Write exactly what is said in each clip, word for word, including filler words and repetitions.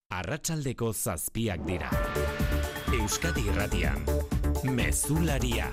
Arratsaldeko zazpiak dira. Euskadi Irratian, Mezularia.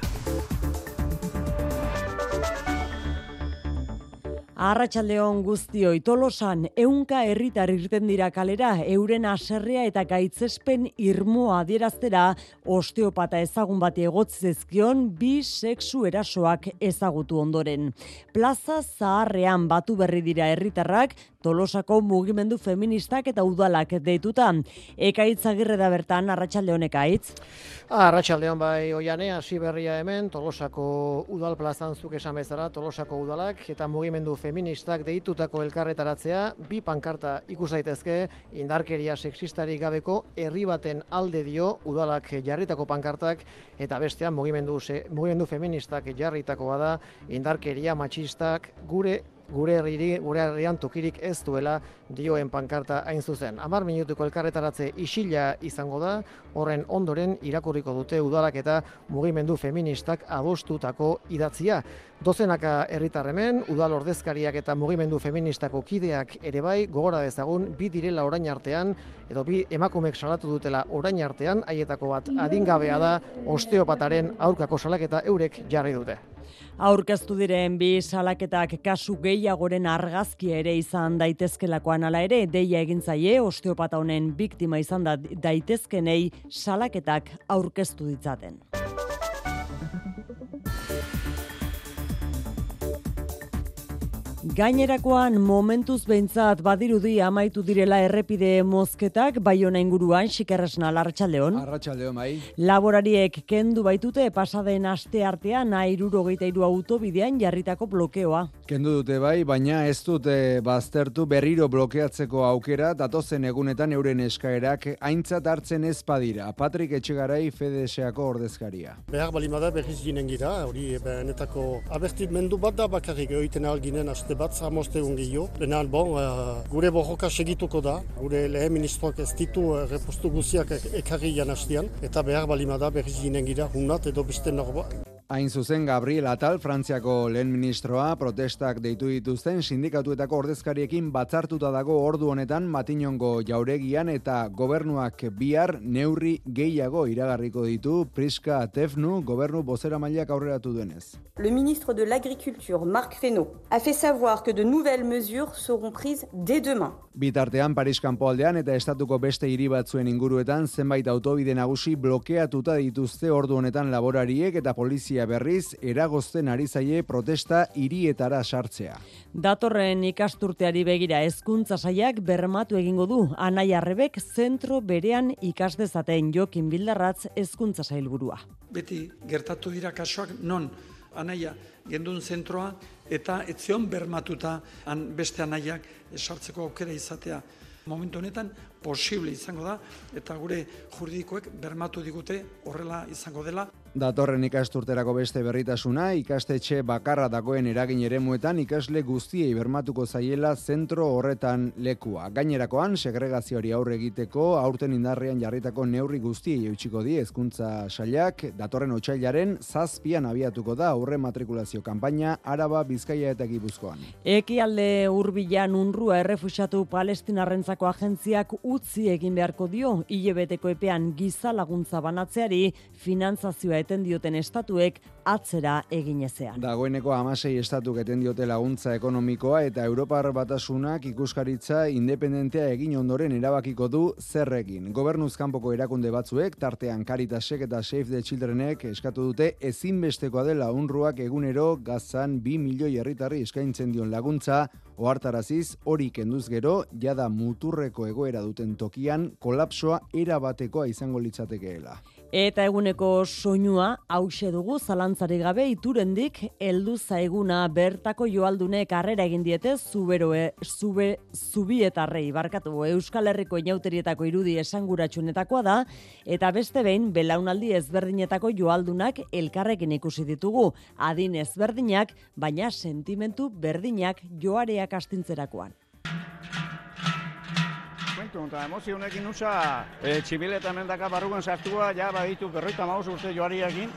Arratsaldeon guztioi, Tolosan ehunka herritar irten dira kalera euren haserrea eta gaitzespen irmoa adieraztera osteopata ezagun bati egotzi zizkion bi sexu erasoak ezagutu ondoren. Plaza Zaharrean batu berri dira herritarrak Tolosako mugimendu feministak eta udalak deituta. Ekaitz Agirre da bertan, arratsaldeon Ekaitz. Arratsaldeon bai Oiane, hasi berria hemen Tolosako udal plazan zuk esan bezala Tolosako udalak eta mugimendu feministak deitutako elkarretaratzea bi pankarta ikus daitezke indarkeria sexistarik gabeko herri baten alde dio udalak jarritako pankartak eta bestean mugimendu mugimendu feministak jarritakoa da indarkeria matxistak gure gure herriri, gure herrian tokirik ez duela dioen pankarta hain zuzen. Hamar minutuko elkarretaratze isila izango da, horren ondoren irakurriko dute udalak eta mugimendu feministak adostutako idatzia. Dozenaka herritar hemen, udal ordezkariak eta mugimendu feministako kideak ere bai, gogora dezagun, bi direla orain artean, edo bi emakumek salatu dutela orain artean, haietako bat adingabea da, osteopataren aurkako salaketa eurek jarri dute. Aurkeztu diren bi salaketak kasu gehiagoren argazkia ere izan daitezkelakoan hala ere, deia egin zaie osteopata honen biktima izan da daitezkenei salaketak aurkeztu ditzaten. Gainerakoan momentuz behintzat badirudi amaitu direla errepide mozketak Baiona inguruan, Xikerresna, arratsaldeon. Arratsaldeon bai. Laborariek kendu baitute pasaden aste artean hirurogeita hiru autobidean jarritako blokeoa. Kendu dute bai, baina ez dute baztertu berriro blokeatzeko aukera datozen egunetan euren eskaerak aintzat hartzen ez badira. Patrik Etxegarai Fedeseako ordezkaria. Behar balimada berriz ginen gira, hori benetako abertimendu bat da bakarrik egiten alginen aste bat zamoste ungio. Benan, bon, uh, gure borroka segituko da, gure lehen ministroak ez ditu uh, repostu guziak ekarri janastian, eta behar balimada berriz ginen gira, hunat edo beste norba. Hain zuzen Gabriel Atal, Frantziako lehen ministroa, protestak deitu dituzten sindikatuetako ordezkariekin batzartuta dago ordu honetan Matinongo jauregian eta gobernuak bihar neurri gehiago iragarriko ditu Priska Tefnu gobernu bozeramaileak aurreratu duenez. Le ministre de l'Agriculture, Marc Fesneau, a fait savoir que de nouvelles mesures seront prises dès demain. Bitartean Paris kanpoaldean eta estatuko beste hiri batzuen inguruetan zenbait autobide nagusi blokeatuta dituzte ordu honetan laborariek eta polizia berriz eragozten ari zaie protesta hirietara sartzea. Datorren ikasturteari begira hezkuntza sailak bermatu egingo du Anai Arrebek zentro berean ikas dezaten Jokin Bildarratz hezkuntza sailburua. Beti gertatu dira kasuak non Anaia gendun zentroa eta etzion bermatuta an beste anaiak sartzeko aukera izatea. Momentu honetan posible izango da eta gure juridikoek bermatu digute horrela izango dela. Datorren ikasturterako beste berritasuna, ikastetxe bakarra dagoen eragin eremuetan ikasle guztiei bermatuko zaiela zentro horretan lekua. Gainerakoan, segregazioari aurre egiteko aurten indarrean jarritako neurri guztiei eutxiko die hezkuntza sailak, datorren otsailaren zazpian abiatuko da aurre matrikulazio kanpaina Araba, Bizkaia eta Gipuzkoan. Ekialde hurbilan UNRWA errefuxiatu palestinarrentzako agentziak utzi egin beharko dio hilabeteko epean giza laguntza banatzeari finantzazioa eten dioten estatuek atzera egin ezean. Dagoeneko hamasei estatuk eten diote laguntza ekonomikoa eta Europar Batasunak ikuskaritza independentea egin ondoren erabakiko du zer egin. Gobernuz kanpoko erakunde batzuek, tartean Caritasek eta Save the Childrenek eskatu dute ezinbestekoa dela UNRWAk egunero Gazan bi milioi herritarri eskaintzen dion laguntza, ohartaraziz hori kenduz gero, jada muturreko egoera duten tokian kolapsoa erabatekoa izango litzatekeela. Eta eguneko soinua hause dugu zalantzarik gabe Iturendik heldu zaiguna bertako joaldunek harrera egin diete zuberoe zube zubietarrei barkatu Euskal Herriko inauterietako irudi esanguratsuenetakoa da eta beste behin belaunaldi ezberdinetako joaldunak elkarrekin ikusi ditugu adin ezberdinak baina sentimentu berdinak joareak astintzerakoan. Eta emozionekin usa e, txibileta mendaka barrugan sartua, ja baditu berroita maus urte joariakin.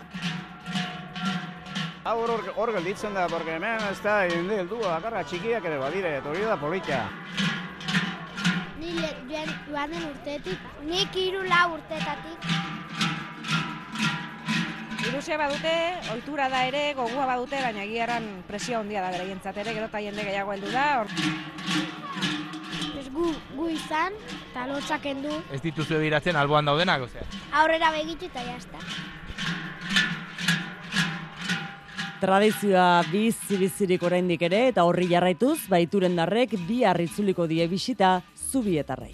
Hor hor gelditzen da, porque hemen ez da hildua, bakarra txikiak ere badire, eta hori da polita. Ni joan den urteetik, nik hiru lau urteetatik. Ilusia badute, ohitura da ere, gogua badute, baina egiaran presio handia da beraientzat ere, gero eta jende gehiago heldu da. Ez gu, gu izan, eta lotzak kendu. Ez dituzu ebiratzen alboan daudenak, ozea? Aurrera begitu eta jazta. Tradizioa bizi-bizirik oraindik ere, eta horri jarraituz, baituren darrek bi harritzuliko die bisita Zubietarrei.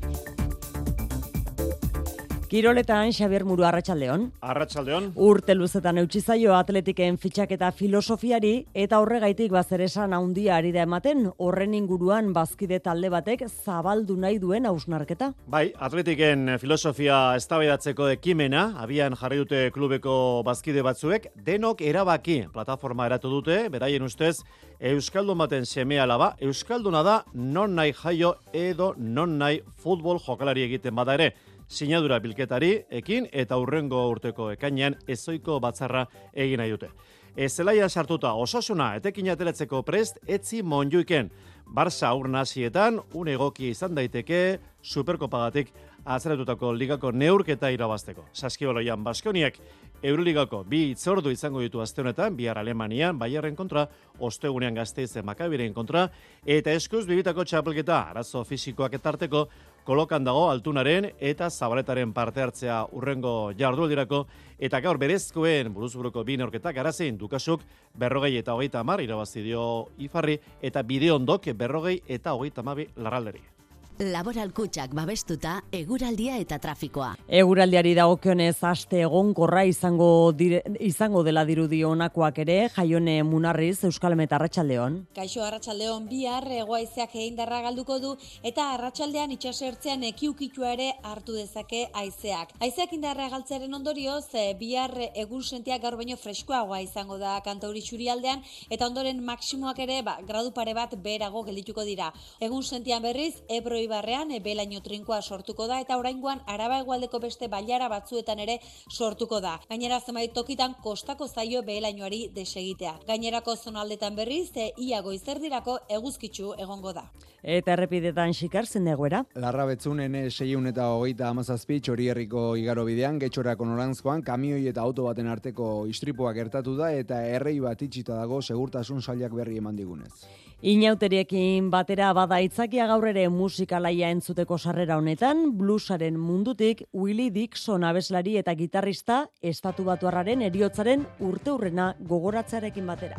Kiroletan Xabier Muru, arratsaldeon. Arratsaldeon. Urte luzetan eutsi zaio atletiken fitxaketa filosofiari eta horregaitik bazeresan handia ari da ematen, horren inguruan bazkide talde batek zabaldu nahi duen hausnarketa. Bai, atletiken filosofia eztabaidatzeko ekimena abian jarri dute klubeko bazkide batzuek, denok erabaki plataforma eratu dute, beraien ustez euskaldun baten seme alaba, euskalduna da non nahi jaio edo non nahi futbol jokalari egiten bada ere. Sinadura bilketari ekin eta hurrengo urteko ekainean ezoiko batzarra egin nahi dute. Zelaian sartuta Osasuna etekin ateratzeko prest etzi Monjuiken. Barça aur nasietan un egoki izan daiteke Superkopagatik azaretutako ligako neurketa irabazteko. Saskibaloian Baskoniak Euroligako bi itzordu izango ditu aste honetan, bihar Alemanian Bayerren kontra, ostegunean Gasteizen Makabiren kontra, eta eskuz bibitako txapelketa arazo fisikoak etarteko kolokan dago Altunaren eta Zabaletaren parte hartzea urrengo jardunaldirako, eta gaur berezkoen buruzburuko bi neurketak arazein Dukasuk berrogei eta hogeita hamar irabazi dio Ifarri, eta Bideondok berrogei eta hogeita hamabi Larralderi. Laboral Kutxak babestuta eguraldia eta trafikoa. Eguraldiari dagokionez aste egonkorra izango dire, izango dela dirudi honakoak ere, Jaione Munarriz, Euskal Met, arratsaldeon. Kaixo, arratsaldeon, bihar hegoaizeak egindarra galduko du eta arratsaldean itsasertzean ekiukitua ere hartu dezake haizeak. Haizeak indarra galtzearen ondorioz, bihar egun sentiak gaur baino freskoagoa izango da kantauri txurialdean eta ondoren maksimoak ere ba, gradu pare bat beherago geldituko dira. Egun sentian berriz, Ebro Ibarrean belaino trinkoa sortuko da eta oraingoan Araba hegoaldeko beste bailara batzuetan ere sortuko da. Gainera zenbait tokitan kostako zaio behelainoari desegitea. Gainerako zonaldetan berriz ia goizerdirako eguzkitsu egongo da. Eta errepidetan xikar zen egoera? Larrabetzunen seiehun eta hogeita hamazazpi Txorierriko igaro bidean, Getxorako norantzkoan kamioi eta auto baten arteko istripoa gertatu da eta errei bat itxita dago segurtasun sailak berri eman digunez. Inauteriekin batera bada itzakia gaur ere musikalaia entzuteko sarrera honetan, bluesaren mundutik Willie Dixon abeslari eta gitarrista estatubatuarraren heriotzaren urteurrena gogoratzearekin batera.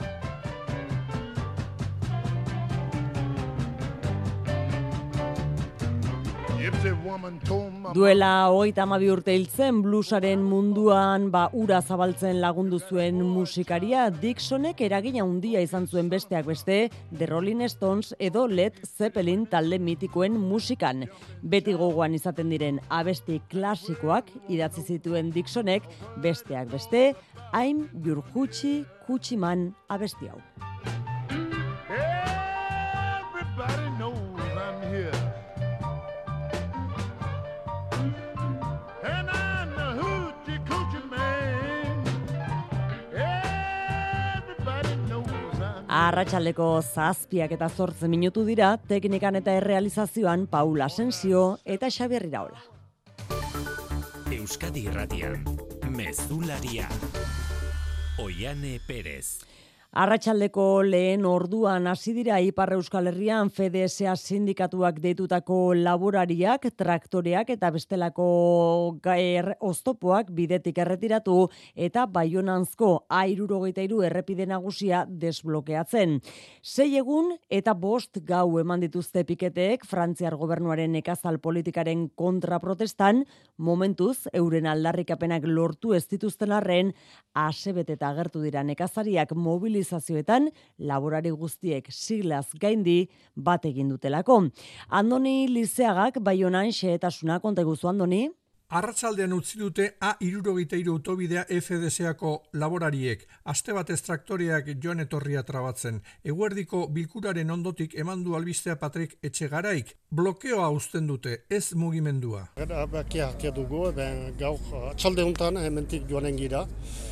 Duela hogeita hamabi urte hiltzen bluesaren munduan ba ura zabaltzen lagundu zuen musikaria Dixonek eragina handia izan zuen besteak beste The Rolling Stones edo Led Zeppelin talde mitikoen musikan. Beti gogoan izaten diren abesti klasikoak idatzi zituen Dixonek besteak beste I'm Your Hoochie Coochie Man abesti hau. Everybody knows I'm here. Arratsaldeko zazpiak eta zortze minutu dira, teknikan eta errealizazioan Paula Asensio eta Xabier Iraola. Euskadi Irratian, Mezularia, Oiane Perez. Arratsaldeko lehen orduan hasi dira Ipar Euskal Herrian F D S A sindikatuak deitutako laborariak, traktoreak eta bestelako gaer oztopoak bidetik erretiratu eta Baionanzko A hirurogeita hiru errepide nagusia desblokeatzen. Sei egun eta bost gau eman dituzte piketeek Frantziar gobernuaren nekazal politikaren kontra protestan, momentuz euren aldarrikapenak lortu ez dituzten arren, asebeteta agertu dira nekazariak mobilizazioetan laborari guztiek siglaz gaindi bat egin dutelako. Andoni Lizeagak Baionan xehetasuna konta iguzu, Andoni. Arratsaldean utzi dute A hirurogeita hiru autobidea F D S Ako laborariek, aste batez traktoreak joan etorria trabatzen. Eguerdiko bilkuraren ondotik eman du albistea Patrik Etxegaraik. Blokeoa uzten dute, ez mugimendua. Erabakia hartia dugu, ben gaur atxalde honetan hementik joanen gira.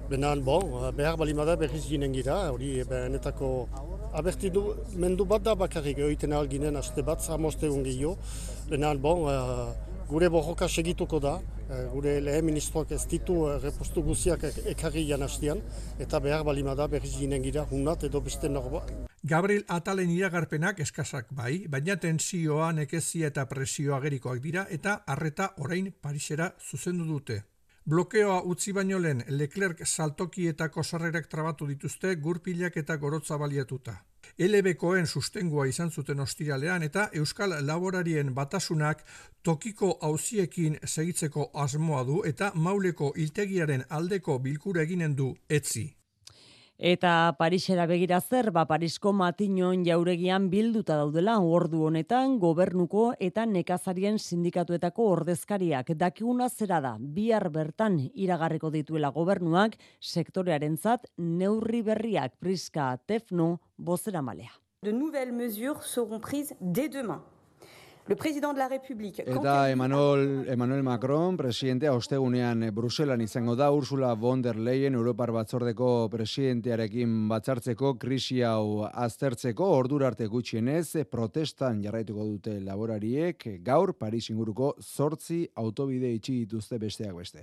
Benan, bon, behar balimada berriz ginen gira, hori benetako abertidu mendu bat da bakarrik egiten alginen aste bat, zamoste gehiago. Benan, bon, gure borroka segituko da, gure lehen ministroak ez ditu repostu guziak ekarri janastian, eta behar balimada berriz ginen gira, hunat edo beste norbat. Gabriel Atalen iragarpenak eskasak bai, baina tentsioa, nekezia eta presioa agerikoak dira eta harreta orain Parisera zuzendu dute. Blokeoa utzi baino lehen Leclerc saltokietako sarrerak trabatu dituzte gurpilak eta gorotza baliatuta. L B Koen sustengua izan zuten ostiralean eta Euskal Laborarien Batasunak tokiko auziekin segitzeko asmoa du eta Mauleko hiltegiaren aldeko bilkura eginen du etzi. Eta Parisera begira zer, ba Parisko Matinon jauregian bilduta daudela ordu honetan gobernuko eta nekazarien sindikatuetako ordezkariak. Dakiguna zera da, bihar bertan iragarriko dituela gobernuak sektorearentzat neurri berriak. Priska Tefno bozeramalea. De nouvelles mesures seront prises dès demain. Le président de la République. Eta Emmanuel, Emmanuel Macron, presidentea ostegunean Bruselan izango da, Ursula von der Leyen, Europar Batzordeko presidentearekin batzartzeko, krisi hau aztertzeko, ordura arte gutxienez, protestan jarraituko dute laborariek, gaur Paris inguruko zortzi autobide itxi dituzte besteak beste.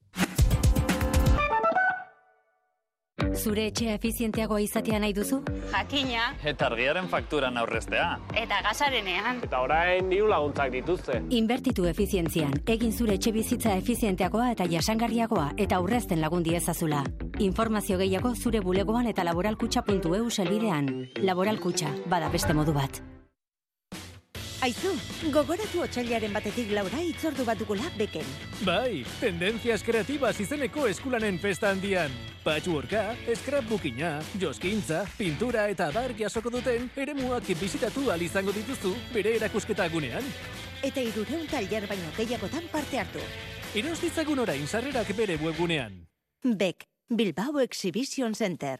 Zure etxea efizienteagoa izatea nahi duzu? Jakina. Eta argiaren fakturan aurreztea. Eta gasarenean. Eta orain diru laguntzak dituzte. Inbertitu efizientzian. Egin zure etxe bizitza efizienteagoa eta jasangarriagoa eta aurrezten lagundi ezazula. Informazio gehiago zure bulegoan eta laboralkutxa puntu e u selbidean. Laboralkutxa, bada beste modu bat. Aizu, gogoratu otsailaren batetik laura itzordu bat dugula beken. Bai, tendencias kreatibas izeneko eskulanen festa handian. Patchworka, scrapbookina, joskintza, pintura eta abar jasoko duten eremuak bizitatu ahal izango dituzu bere erakusketa gunean. Eta hirureun tailer baino gehiagotan parte hartu. Eros ditzagun orain sarrerak bere webgunean. Bek, Bilbao Exhibition Center.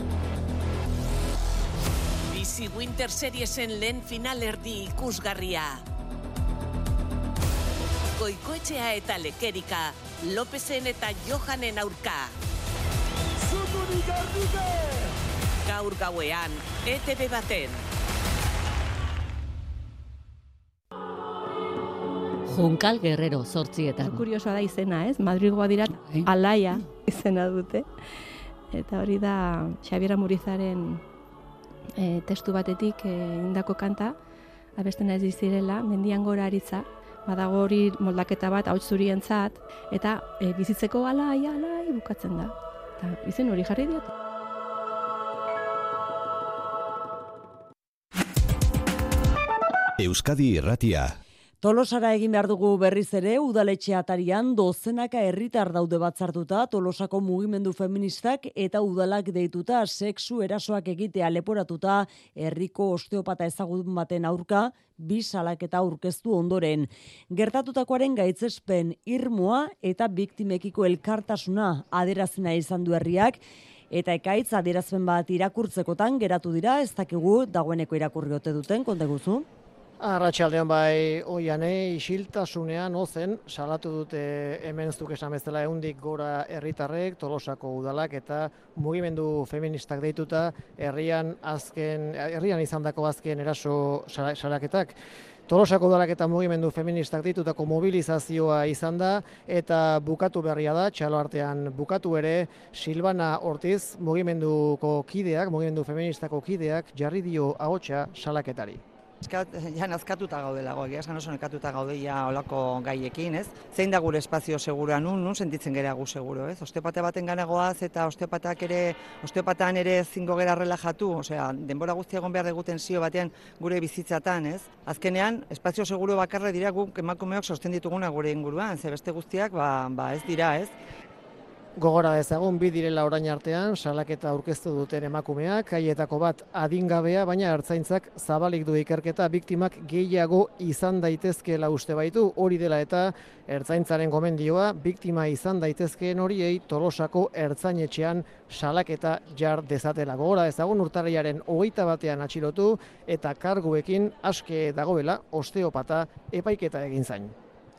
Bizi Winter Seriesen lehen final erdi ikusgarria. Goikoetxea eta Lekerika, Lopezen eta Johanen aurka. Zutunik ardute! Gaur gauean, E T B baten. Junkal Guerrero zortzietan. Kuriosoa da izena, ez? Madrilgoa dira Alaia izena dute. Eta hori da Xabier Amurizaren E, testu batetik e, indako kanta, abestena ez dizirela, mendian gora aritza, badago hori moldaketa bat hauts zurientzat, eta e, bizitzeko alai, alai bukatzen da. Eta izen hori jarri diot. Euskadi Irratia. Tolosara egin behar dugu berriz ere, udaletxe atarian dozenaka herritar daude batzartuta, Tolosako mugimendu feministak eta udalak deituta sexu erasoak egitea leporatuta herriko osteopata ezagun baten aurka, bi salaketa aurkeztu ondoren. Gertatutakoaren gaitzespen irmoa eta biktimekiko elkartasuna adierazina izan du herriak, eta ekaitz adierazpen bat irakurtzekotan geratu dira, ez dakigu dagoeneko irakurri ote duten, konta guzu? Arratsaldean bai oiane isiltasunean ozen salatu dute hemen zuk esan bezala ehundik gora herritarrek, Tolosako udalak eta mugimendu feministak deituta herrian azken herrian izandako azken eraso salaketak. Tolosako udalak eta mugimendu feministak deitutako mobilizazioa izan da eta bukatu berria da, txalo artean bukatu ere Silvana Ortiz mugimenduko kideak, mugimendu feministako kideak jarri dio ahotsa salaketari. Ja nazkatuta gaudelago, egiazkan oso nekatuta gaudeia olako gaiekin, ez? Zein da gure espazio segura nun, nun sentitzen gera gu seguro, ez? Osteopata baten ganagoaz eta osteopatak ere, osteopatan ere zingo gera relajatu, osea, denbora guztia egon behar dugu tensio batean gure bizitzatan, ez? Azkenean, espazio seguro bakarra dira guk emakumeok sosten dituguna gure inguruan, ze beste guztiak, ba, ba ez dira, ez? Gogora dezagun bi direla orain artean salaketa aurkeztu duten emakumeak, haietako bat adingabea, baina ertzaintzak zabalik du ikerketa biktimak gehiago izan daitezkeela uste baitu, hori dela eta ertzaintzaren gomendioa biktima izan daitezkeen horiei Tolosako ertzainetxean salaketa jar dezatela. Gogora dezagun urtarrilaren hogeita batean atxilotu eta karguekin aske dagoela osteopata epaiketa egin zain.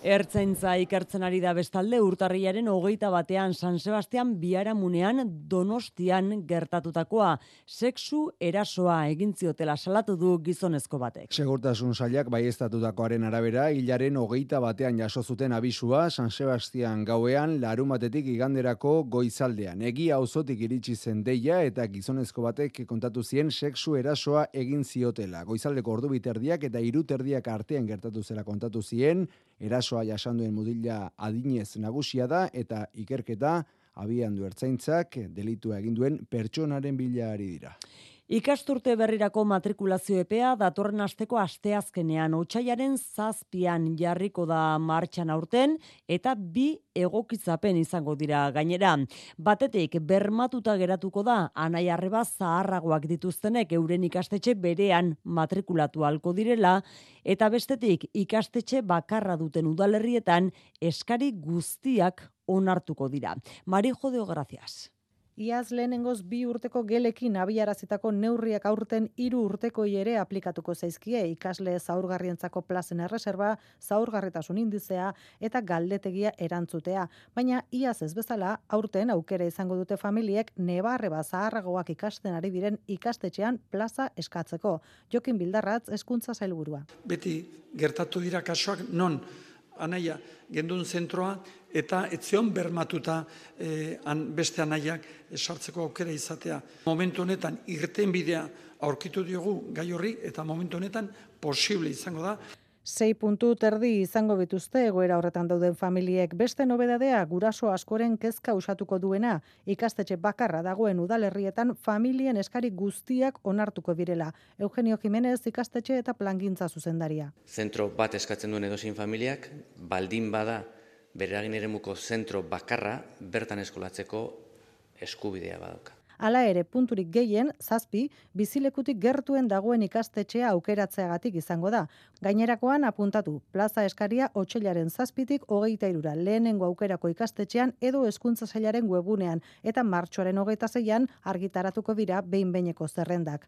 Ertzaintza ikertzen ari da bestalde urtarrilaren hogeita batean San Sebastian Biharamunean Donostian gertatutakoa. Sexu erasoa egin ziotela salatu du gizonezko batek. Segurtasun sailak baieztatutakoaren arabera, hilaren hogeita batean jaso zuten abisua San Sebastian gauean larumatetik iganderako goizaldean. Egia auzotik iritsi zen deia eta gizonezko batek kontatu zien sexu erasoa egin ziotela. Goizaldeko ordu biterdiak eta hiru terdiak artean gertatu zela kontatu zien. Erasoa jasanduen mutila adinez nagusia da eta ikerketa abian du ertzaintzak delitua egin duen pertsonaren bila ari dira. Ikasturte berrirako matrikulazio epea datorren asteko asteazkenean otsailaren zazpian jarriko da martxan aurten eta bi egokitzapen izango dira gainera. Batetik bermatuta geratuko da anai arreba zaharragoak dituztenek euren ikastetxe berean matrikulatu halko direla eta bestetik ikastetxe bakarra duten udalerrietan eskari guztiak onartuko dira. Marijo de Gracias. Iaz lehenengoz bi urteko gelekin abiarazitako neurriak aurten hiru urtekoi ere aplikatuko zaizkie ikasle zaurgarrientzako plazen erreserba, zaurgarritasun indizea eta galdetegia erantzutea. Baina iaz ez bezala aurten aukera izango dute familiek nebarreba zaharragoak ikasten ari diren ikastetxean plaza eskatzeko. Jokin Bildarratz hezkuntza sailburua. Beti gertatu dira kasuak non anaia gendun zentroa eta etzion bermatuta eh, an, beste anaiak sartzeko aukera izatea. Momentu honetan irtenbidea aurkitu diogu gai horri eta momentu honetan posible izango da. Sei puntu terdi izango bituzte egoera horretan dauden familiek. Beste nobedadea guraso askoren kezka usatuko duena. Ikastetxe bakarra dagoen udalerrietan familien eskari guztiak onartuko direla. Eugenio Jimenez ikastetxe eta plangintza zuzendaria. Zentro bat eskatzen duen edozein familiak, baldin bada bere eragin eremuko zentro bakarra bertan eskolatzeko eskubidea badauka. Hala ere, punturik gehien, zazpi, bizilekutik gertuen dagoen ikastetxea aukeratzeagatik izango da. Gainerakoan apuntatu, plaza eskaria otsailaren zazpitik hogeita irura lehenengo aukerako ikastetxean edo hezkuntza sailaren webunean eta martxoaren hogeita zeian argitaratuko dira behin-behineko zerrendak.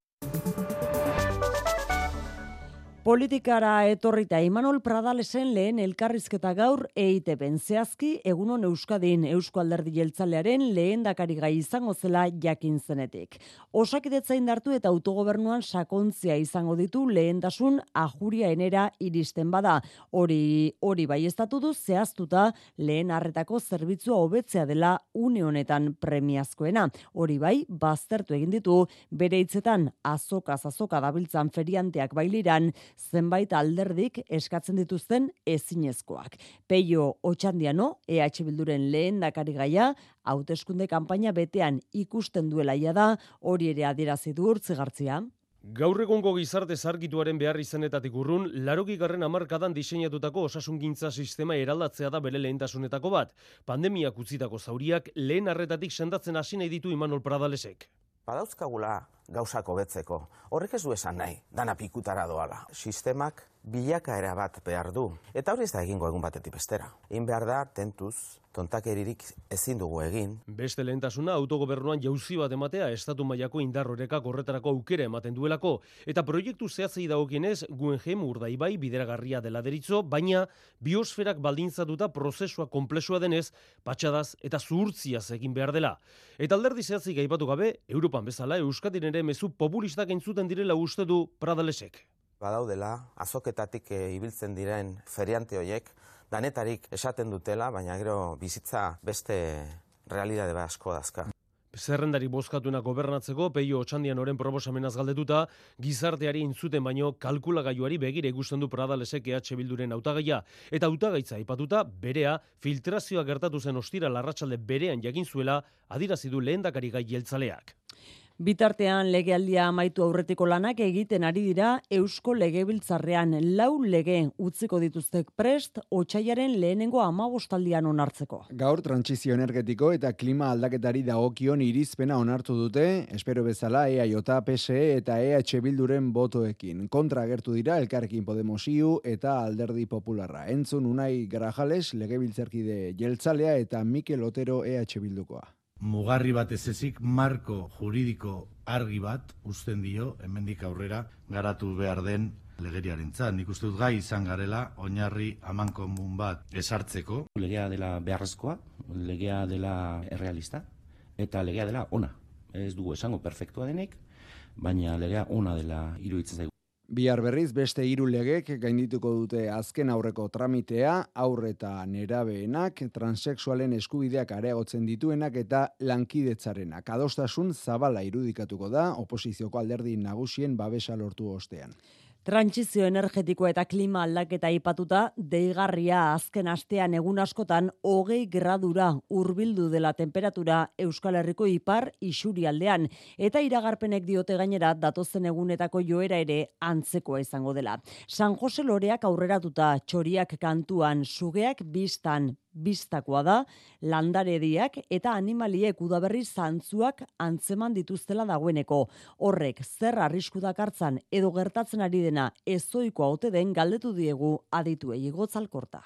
Politikara etorrita Imanol Pradalesen lehen elkarrizketa gaur E I T B-n zehazki egunon Euskadin Eusko Alderdi Jeltzalearen lehendakari gai izango zela jakin zenetik. Osakidetza indartu eta autogobernuan sakontzia izango ditu lehentasun ajuria enera iristen bada. Hori hori baieztatu du zehaztuta lehen arretako zerbitzua hobetzea dela une honetan premiazkoena. Hori bai, baztertu egin ditu bere hitzetan azokaz azoka dabiltzan ferianteak bailiran zenbait alderdik eskatzen dituzten ezinezkoak. Peio Otxandiano, E H Bilduren lehendakari gaia, hauteskunde kanpaina betean ikusten duela da, hori ere adierazi du Urtzigartzia. Gaur egungo gizarte zargituaren behar izenetatik urrun, larogigarren hamarkadan diseinatutako osasungintza sistema eraldatzea da bere lehentasunetako bat. Pandemiak utzitako zauriak lehen arretatik sendatzen hasi nahi ditu Imanol Pradalesek. Badauzkagula gauzak hobetzeko. Horrek ez du esan nahi, dana pikutara doala. Sistemak bilakaera bat behar du. Eta hori ez da egingo egun batetik bestera. Egin behar da, tentuz, tontakeririk ezin dugu egin. Beste lehentasuna autogobernuan jauzi bat ematea estatu mailako indar horekak horretarako aukera ematen duelako. Eta proiektu zehatzei dagokienez, Guggenheim Urdaibai bideragarria dela deritzo, baina biosferak baldintzatuta prozesua konplexua denez, patxadaz eta zuhurtziaz egin behar dela. Eta alderdi zehatzik aipatu gabe, Europan bezala Euskadin ere mezu populistak entzuten direla uste du Pradalesek. Badaudela, azoketatik e, ibiltzen diren feriante hoiek, danetarik esaten dutela, baina gero bizitza beste realidade asko dazka. Zerrendari bozkatuena gobernatzeko, Peio Otxandianoren proposamenaz galdetuta, gizarteari entzuten baino kalkulagailuari begire ikusten du Pradalesek E H Bilduren hautagaia. Eta hautagaitza aipatuta, berea, filtrazioa gertatu zen ostira larratsalde berean jakin zuela, adierazi du lehendakari gai jeltzaleak. Bitartean legealdia amaitu aurretiko lanak egiten ari dira Eusko Legebiltzarrean lau lege utziko dituztek prest otsailaren lehenengo hamabostaldian onartzeko. Gaur trantsizio energetiko eta klima aldaketari dagokion irizpena onartu dute, espero bezala E A J, P S E eta E H Bilduren botoekin. Kontra agertu dira Elkarrekin Podemos iu eta Alderdi Popularra. Entzun Unai Grajales, legebiltzarkide jeltzalea eta Mikel Otero E H Bildukoa. Mugarri bat ez ezik, marko juridiko argi bat usten dio, hemendik aurrera garatu behar den Legeriarentzat, nik uste dut gai izan garela, oinarri amankomun bat esartzeko. Legea dela beharrezkoa, legea dela errealista, eta legea dela ona. Ez dugu esango perfektua denik, baina legea ona dela iruditzen zaigu. Bihar berriz beste hiru legek gaindituko dute azken aurreko tramitea, haur eta nerabeenak, transexualen eskubideak areagotzen dituenak eta lankidetzarenak. Adostasun zabala irudikatuko da oposizioko alderdi nagusien babesa lortu ostean. Trantsizio energetikoa eta klima aldaketa aipatuta, deigarria azken astean egun askotan hogei gradura hurbildu dela temperatura Euskal Herriko ipar isurialdean, eta iragarpenek diote gainera datozen egunetako joera ere antzekoa izango dela. San Jose Loreak aurreratuta, txoriak kantuan, sugeak bistan, bistakoa da, landarediak eta animaliek udaberri zantzuak antzeman dituztela dagoeneko. Horrek zer arrisku dakartzan edo gertatzen ari dena ezoikoa ote den galdetu diegu adituei Gotzalkorta.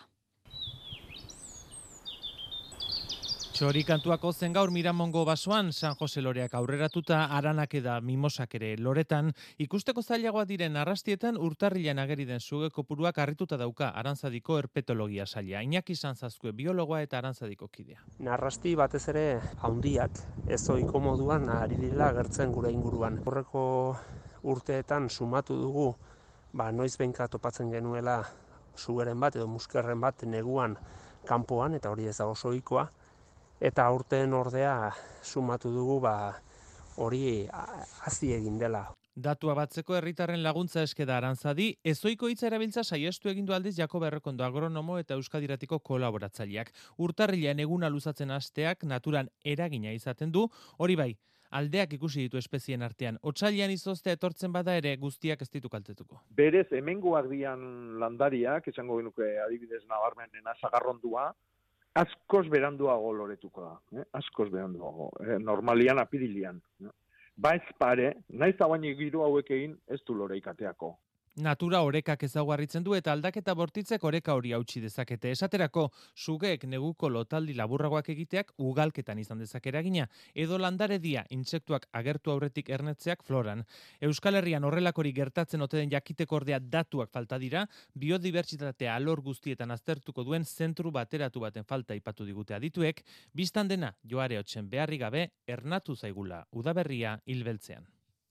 Txori kantuako zen gaur Miramongo basoan, San Jose Loreak aurreratuta, aranak eda mimosak ere loretan, ikusteko zailagoa diren arrastietan urtarrilan ageri den suge kopuruak harrituta dauka Arantzadiko herpetologia saila. Iñaki Sanzazkue biologoa eta Arantzadiko kidea. Narrasti batez ere handiak, ez ohiko moduan ari direla agertzen gure inguruan. Horreko urteetan sumatu dugu, ba noiz behinka topatzen genuela sugeren bat edo muskerren bat neguan kanpoan, eta hori ez da oso ohikoa. Eta aurten ordea sumatu dugu ba hori hazi egin dela. Datua batzeko herritarren laguntza eske da Arantzadi, ezoiko hitza erabiltza saiestu egin du aldiz Jakob Errekondo agronomo eta Euskadiratiko kolaboratzaileak. Urtarrilean eguna luzatzen hasteak naturan eragina izaten du, hori bai, aldeak ikusi ditu espezien artean. Otsailean izoztea etortzen bada ere guztiak ez ditu kaltetuko. Berez hemengoak dian landariak, esango genuke adibidez nabarmenena sagarrondua, askoz beranduago loretuko da, eh? askoz beranduago, eh? normalian apirilian. Eh? Ba ez pare, naiz da baina giro hauek egin ez du loreikateako. Natura orekak ezaugarritzen du eta aldaketa bortitzek oreka hori hautsi dezakete. Esaterako, sugeek neguko lotaldi laburragoak egiteak ugalketan izan dezake eragina, edo landaredia intsektuak agertu aurretik ernetzeak floran. Euskal Herrian horrelakori gertatzen ote den jakiteko ordea datuak falta dira, biodibertsitatea alor guztietan aztertuko duen zentru bateratu baten falta ipatu digute adituek, biztan dena joare hotzen beharri gabe ernatu zaigula udaberria hilbeltzean.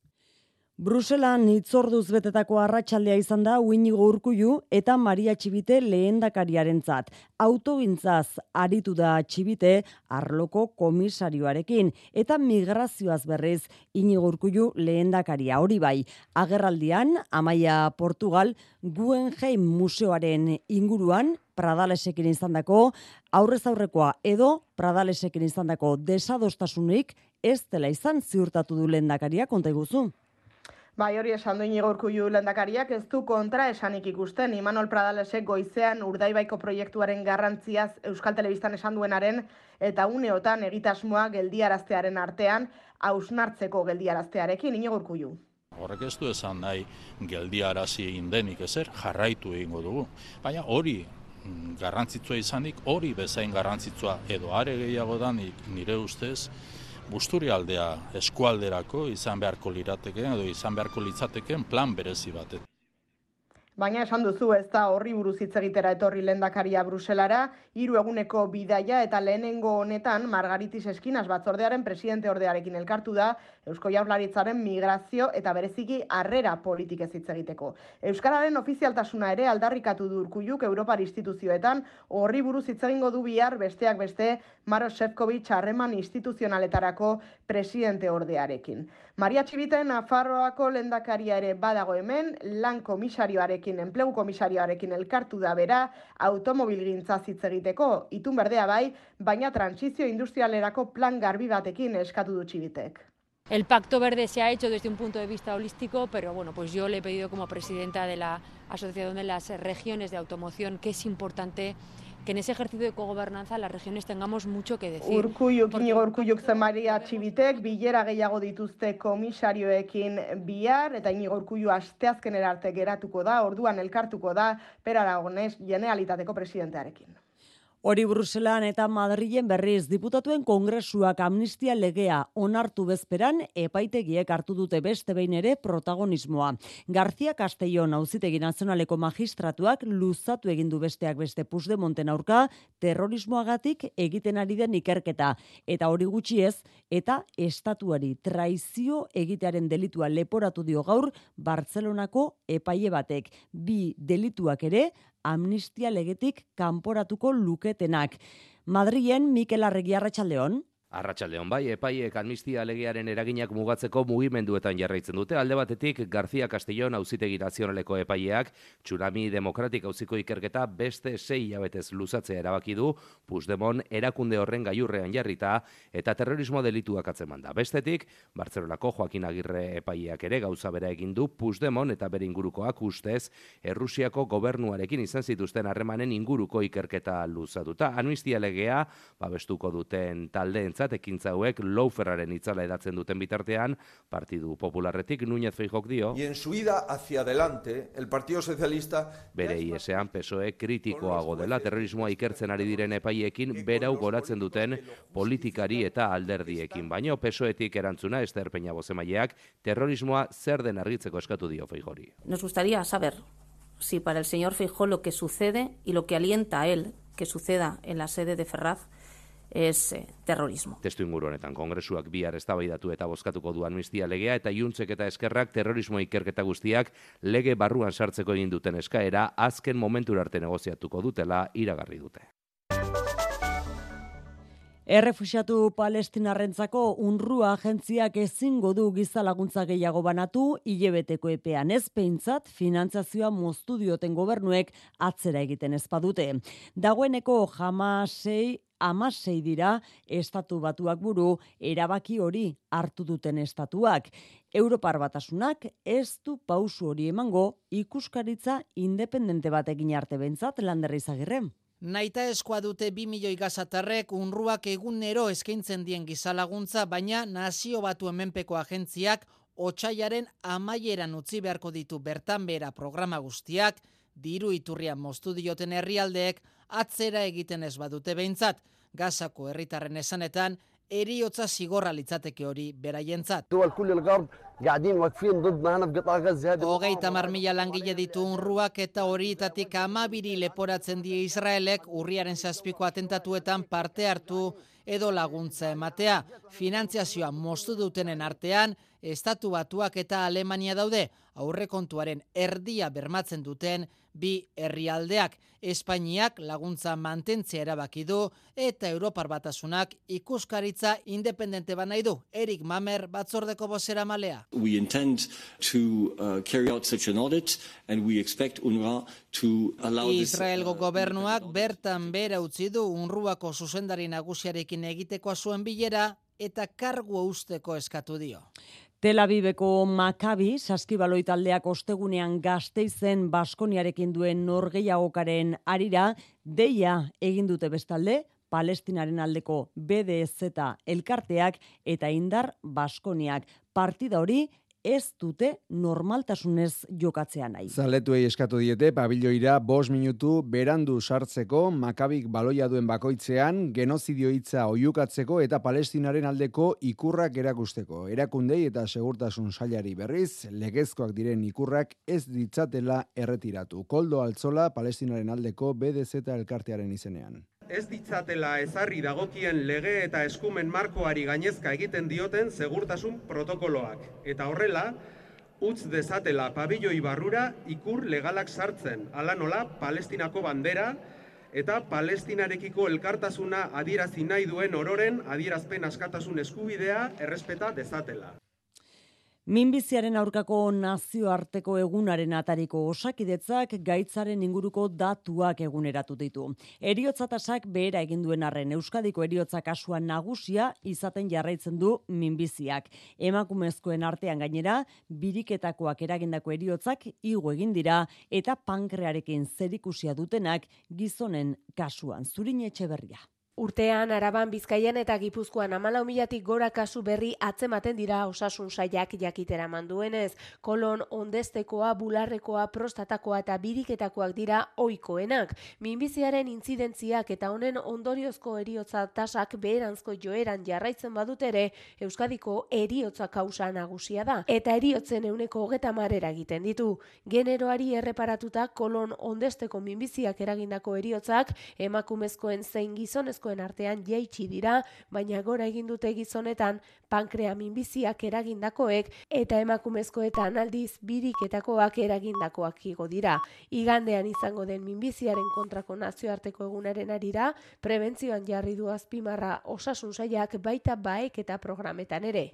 Bruselan hitzorduz betetako arratsaldea izan da Iñigo Urkullu eta Maria Txibite lehendakariarentzat. Autogintzaz aritu da Txibite arloko komisarioarekin eta migrazioaz berriz Iñigo Urkullu lehendakaria. Hori bai, agerraldian Amaia Portugal Guggenheim museoaren inguruan Pradalesekin izandako aurrez aurrekoa edo Pradalesekin izandako desadostasunik ez dela izan ziurtatu du lehendakaria, konta iguzu. Bai, hori esan du Iñigo Urkullu lehendakariak ez du kontra esanik ikusten. Imanol Pradalesek goizean Urdaibaiko proiektuaren garrantziaz Euskal Telebistan esan duenaren eta uneotan egitasmoa geldiaraztearen artean hausnartzeko geldiaraztearekin Iñigo Urkullu. Horrek ez du esan nahi geldiarazi egin denik ezer jarraitu egingo dugu. Baina hori garrantzitsua izanik, hori bezain garrantzitsua edo are gehiago danik nire ustez, Busturialdea eskualderako izan beharko lirateken edo izan beharko litzateken plan berezi batet. Baina esan duzu ez da horri buruz hitz egitera etorri lehendakaria Bruselara, hiru eguneko bidaia eta lehenengo honetan Margaritis Eskinas batzordearen presidente ordearekin elkartu da Eusko Jaurlaritzaren migrazio eta bereziki harrera politikez hitz egiteko. Euskararen ofizialtasuna ere aldarrikatu du Urkulluk Europar instituzioetan, horri buruz hitz egingo du bihar besteak beste Maros Šefčovič harreman instituzionaletarako presidente ordearekin. Maria Txibite Nafarroako lehendakaria ere badago hemen, lan komisarioarekin, enplegu komisarioarekin elkartu da bera, automobilgintza hitz egiteko, itun berdea bai, baina trantsizio industrialerako plan garbi batekin eskatu du Txibitek. El Pacto Verde se ha hecho desde un punto de vista holístico, pero bueno, pues yo le he pedido como presidenta de la Asociación de las Regiones de Automoción que es importante que en ese ejercicio de cogobernanza las regiones tengamos mucho que decir. Urkulluk, Iñigo Urkulluk zen Maria Txibitek, bilera gehiago dituzte komisarioekin bihar, eta Iñigo Urkullu asteazkenera arte geratuko da, orduan elkartuko da, Per Aragones Generalitateko presidentearekin. Hori Bruselan eta Madrilen berriz diputatuen kongresuak amnistia legea onartu bezperan epaitegiek hartu dute beste behin ere protagonismoa. García Castellón Auzitegi Nazionaleko magistratuak luzatu egin du besteak beste Puigdemonten aurka terrorismoagatik egiten ari den ikerketa eta hori gutxi ez eta estatuari traizio egitearen delitua leporatu dio gaur Bartzelonako epaile batek. Bi delituak ere amnistia legetik kanporatuko luketenak. Madrilen Mikel Arregi, arratsaldeon. Arratsaldeon bai, epaiek amnistia legearen eraginak mugatzeko mugimenduetan jarraitzen dute. Alde batetik, García Castellón Auzitegi Nazionaleko epaileak Tsunami Demokratik auziko ikerketa beste sei hilabetez luzatzea erabaki du, Puigdemont erakunde horren gailurrean jarrita eta terrorismo delituak atzeman da. Bestetik, Bartzelonako Joaquin Agirre epaileak ere gauza bera egin du, Puigdemont eta bere ingurukoak ustez Errusiako gobernuarekin izan zituzten harremanen inguruko ikerketa luzatuta. Amnistia legea babestuko duten taldeen ekintza hauek Louferraren itzala edatzen duten bitartean, Partidu Popularretik Núñez Feijóok dio. Y en su ida hacia adelante, el Partido Socialista bere iesean P S O E kritikoago dela terrorismoa ikertzen ari diren epaiekin berau goratzen duten politikari eta alderdiekin. Baina P S O Etik erantzuna Ester Peña bozemaileak terrorismoa zer den argitzeko eskatu dio Feijóori. Nos gustaría saber si para el señor Feijóo lo que sucede y lo que alienta a él que suceda en la sede de Ferraz es eh, terrorismo. Testu inguru honetan kongresuak bihar eztabaidatu eta bozkatuko du amnistia legea eta Juntzek eta Eskerrak terrorismo ikerketa guztiak lege barruan sartzeko egin duten eskaera azken momentura arte negoziatuko dutela iragarri dute. Errefuxiatu palestinarrentzako UNRWA agentziak ezingo du giza laguntza gehiago banatu hilebeteko epean, ez behintzat finantzazioa moztu dioten gobernuek atzera egiten ez badute. Dagoeneko Hamasei Hamasei dira estatu batuak buru erabaki hori hartu duten estatuak. Europar Batasunak ez du pausu hori emango ikuskaritza independente bat egin arte behintzat, Lander Izagirre. Naita eskoa dute bi milioi gazatarrek UNRWAk egunero eskaintzen dien gizalaguntza, baina nazio batu hemenpeko agentziak otsailaren amaieran utzi beharko ditu bertan behera programa guztiak, diru iturrian moztu dioten herrialdeek atzera egiten ez badute behintzat. Gazako herritarren esanetan, eriotza zigorra litzateke hori beraientzat. Hogeita hamar mila langile ditu UNRWAk eta horietatik hamabiri leporatzen die Israelek urriaren zazpiko atentatuetan parte hartu edo laguntza ematea. Finantziazioa moztu dutenen artean, Estatu Batuak eta Alemania daude, aurrekontuaren erdia bermatzen duten bi herrialdeak. Espainiak laguntza mantentzea erabaki du eta Europar Batasunak ikuskaritza independente ba nahi du. Erik Mamer batzordeko bozeramalea. We intend to uh, carry out such an audit and we expect UNRWA to allow this. Israelgo gobernuak bertan bera utzi du UNRWAko zuzendari nagusiarekin egiteko zuen bilera eta kargu usteko eskatu dio. Tel Aviveko Maccabi saskibaloi taldeak ostegunean Gasteizen Baskoniarekin duen norgehiagokaren arira deia egin dute bestalde Palestinaren aldeko B D Z elkarteak eta Indar Baskoniak. Partida hori ez dute normaltasunez jokatzea nahi. Zaletuei eskatu diete pabiloira bost minutu berandu sartzeko Makabik baloia duen bakoitzean genozidio hitza oihukatzeko eta Palestinaren aldeko ikurrak erakusteko. Erakundei eta segurtasun sailari berriz legezkoak diren ikurrak ez ditzatela erretiratu. Koldo Altzola Palestinaren aldeko B D Z elkartearen izenean. Ez ditzatela ezarri dagokien lege eta eskumen markoari gainezka egiten dioten segurtasun protokoloak. Eta horrela, utz dezatela pabilloi barrura ikur legalak sartzen, hala nola Palestinako bandera eta Palestinarekiko elkartasuna adierazi nahi duen ororen adierazpen askatasun eskubidea errespeta dezatela. Minbiziaren aurkako nazioarteko egunaren atariko Osakidetzak gaitzaren inguruko datuak eguneratu ditu. Heriotza tasak behera egin duen arren Euskadiko heriotza kasua nagusia izaten jarraitzen du minbiziak. Emakumezkoen artean gainera, biriketakoak eragindako heriotzak igo egin dira eta pankrearekin zerikusia dutenak gizonen kasuan. Zurin Etxeberria. Urtean, Araban, Bizkaian eta Gipuzkoan hamalau milatik gora kasu berri atzematen dira osasun sailak jakitera manduenez. Kolon ondestekoa, bularrekoa, prostatakoa eta biriketakoak dira ohikoenak. Minbiziaren intzidentziak eta honen ondoriozko eriotza tasak beheranzko joeran jarraitzen badut ere, Euskadiko eriotza kausa nagusia da. Eta eriotzen euneko hogeta marera egiten ditu. Generoari erreparatuta kolon ondesteko minbiziak eragindako eriotzak emakumezkoen zein gizonezko artean jaitsi dira, baina gora egin dute gizonetan pankrea minbiziak eragindakoek eta emakumezkoetan aldiz biriketakoak eragindakoak igo dira. Igandean izango den minbiziaren kontrako nazioarteko egunaren arira, prebentzioan jarri du azpimarra osasun sailak baita baek eta programetan ere.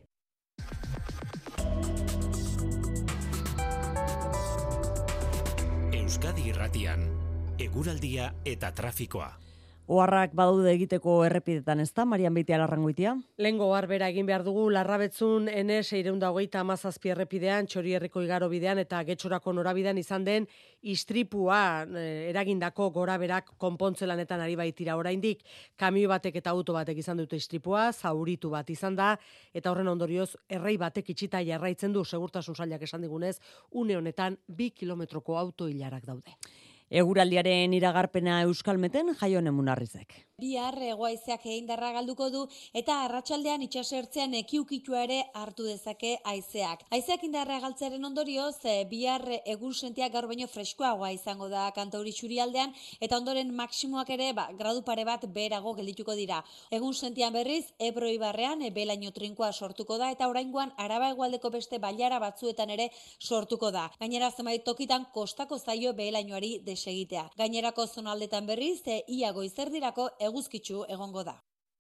Euskadi Irratian, eguraldia eta trafikoa. Oharrak badaude egiteko errepidetan, ezta, Marian Beitia Larrangoitia? Lengo oharbera egin behar dugu Larrabetzun N seiehun eta hogeita hamazazpi errepidean, Txorierriko igaro bidean eta Getxorako norabidean izan den istripua eh, eragindako goraberak konpontze lanetan ari baitira oraindik. Kamio batek eta auto batek izan dute istripua, zauritu bat izan da, eta horren ondorioz errei batek itxita jarraitzen du, segurtasun sailak esan digunez, une honetan bi kilometroko auto hilarak daude. Eguraldiaren iragarpena Euskalmeten Jaione Munarrizek. Bihar hegoaizeak indarra galduko du eta arratsaldean itsasertzean ekiukitua ere hartu dezake haizeak. Haizeak indarra galtzearen ondorioz, bihar egun sentia gaur baino freskoagoa izango da kantauri isurialdean eta ondoren maksimoak ere ba, gradu pare bat beherago geldituko dira. Egun sentian berriz, Ebro ibarrean belaino trinkoa sortuko da eta oraingoan Araba hegoaldeko beste bailara batzuetan ere sortuko da. Gainera zenbait tokitan kostako zaio behelainoari desegitea. Gainerako zonaldetan berriz, ia goizerdirako eguzkitsu egongo da.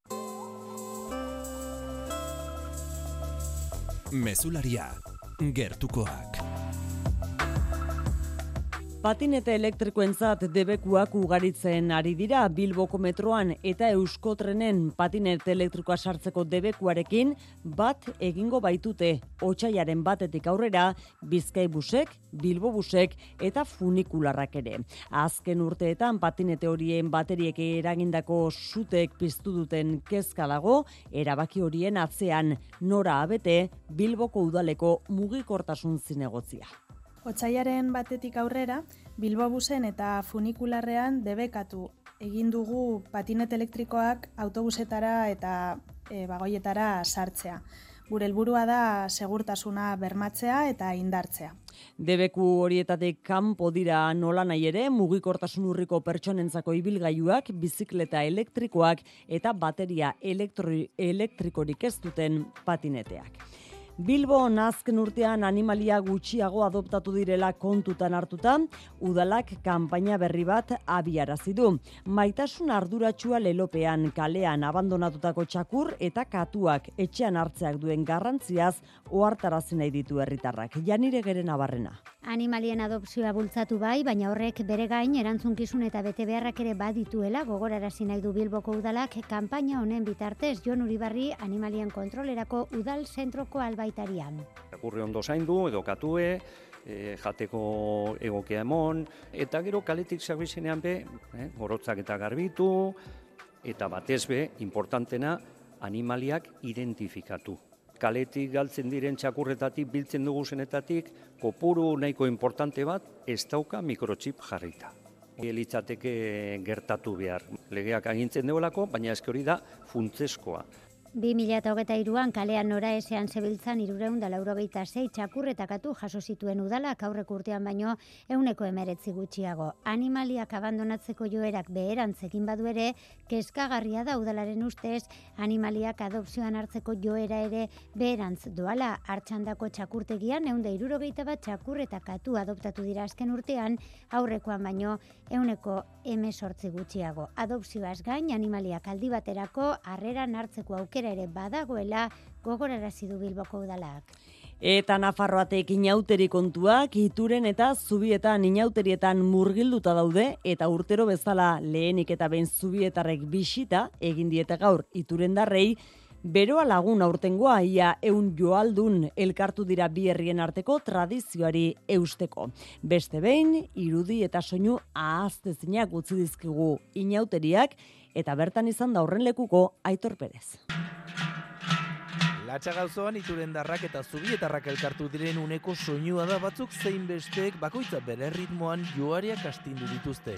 Mezularia, gertukoak. Patinete elektrikoentzat debekuak ugaritzen ari dira Bilboko metroan eta Euskotrenen patinete elektrikoa sartzeko debekuarekin bat egingo baitute otsaiaren batetik aurrera Bizkaibusek, Bilbobusek eta funikularrak ere. Azken urteetan patinete horien bateriek eragindako sutek piztu duten kezka dago, erabaki horien atzean nora abete Bilboko udaleko mugikortasun zinegotzia. Otsaiaren batetik aurrera, Bilbobusen eta funikularrean debekatu egin dugu patinet elektrikoak autobusetara eta e, bagoietara sartzea. Gure helburua da segurtasuna bermatzea eta indartzea. Debeku horietatik kanpo dira nola nahi ere mugikortasun urriko pertsonentzako ibilgailuak, bizikleta elektrikoak eta bateria elektri- elektrikorik ez duten patineteak. Bilbo azken urtean animalia gutxiago adoptatu direla kontutan hartuta, udalak kanpaina berri bat abiarazi du. Maitasun arduratsua lelopean, kalean abandonatutako txakur eta katuak etxean hartzeak duen garrantziaz ohartarazi nahi ditu herritarrak. Janire Geren Abarrena. Animalien adopzioa bultzatu bai, baina horrek bere gain erantzukizun eta bete beharrak ere badituela gogorarazi nahi du Bilboko udalak kanpaina honen bitartez. Jon Uribarri animalien kontrolerako udal zentroko albaitarian. Txakurri ondo zaindu edo katue, e, jateko egokia emon, eta gero kaletik zabizenean be, eh, gorotzak eta garbitu, eta batez be, importantena, animaliak identifikatu. Kaletik galtzen diren txakurretatik, biltzen dugu zenetatik, kopuru nahiko importante bat, ez dauka mikrochip jarrita. Litzateke gertatu behar. Legeak agintzen deolako, baina eske hori da funtzeskoa. bi mila hogeita hiruan kalean nora ezean zebiltzan hirurehun eta laurogeita sei txakurretakatu jaso zituen udalak aurreko urtean baino ehuneko hemeretzi gutxiago. Animaliak abandonatzeko joerak beherantz egin badu ere, kezkagarria da udalaren ustez, animaliak adopzioan hartzeko joera ere beherantz doala. Artxandako txakurtegian ehun eta hirurogeita bat txakurretakatu adoptatu dira azken urtean, aurrekoan baino ehuneko hemezortzi gutxiago. Adopzioaz gain, animaliak aldi baterako harreran hartzeko aukera ere badagoela gogorarazi du Bilboko udalak. Eta Nafarroatek inauteri kontuak Ituren eta Zubietan inauterietan murgilduta daude eta urtero bezala lehenik eta behin Zubietarrek bisita egin diete gaur Iturendarrei Beroa lagun aurtengoa ia eun joaldun elkartu dira bi herrien arteko tradizioari eusteko. Beste behin, irudi eta soinu ahaztezinak utzi dizkigu inauteriak eta bertan izan da horren lekuko Aitor Perez. Latxa gauzoan iturendarrak eta zubietarrak elkartu diren uneko soinua da batzuk zein besteek bakoitza bere ritmoan joariak astindu dituzte.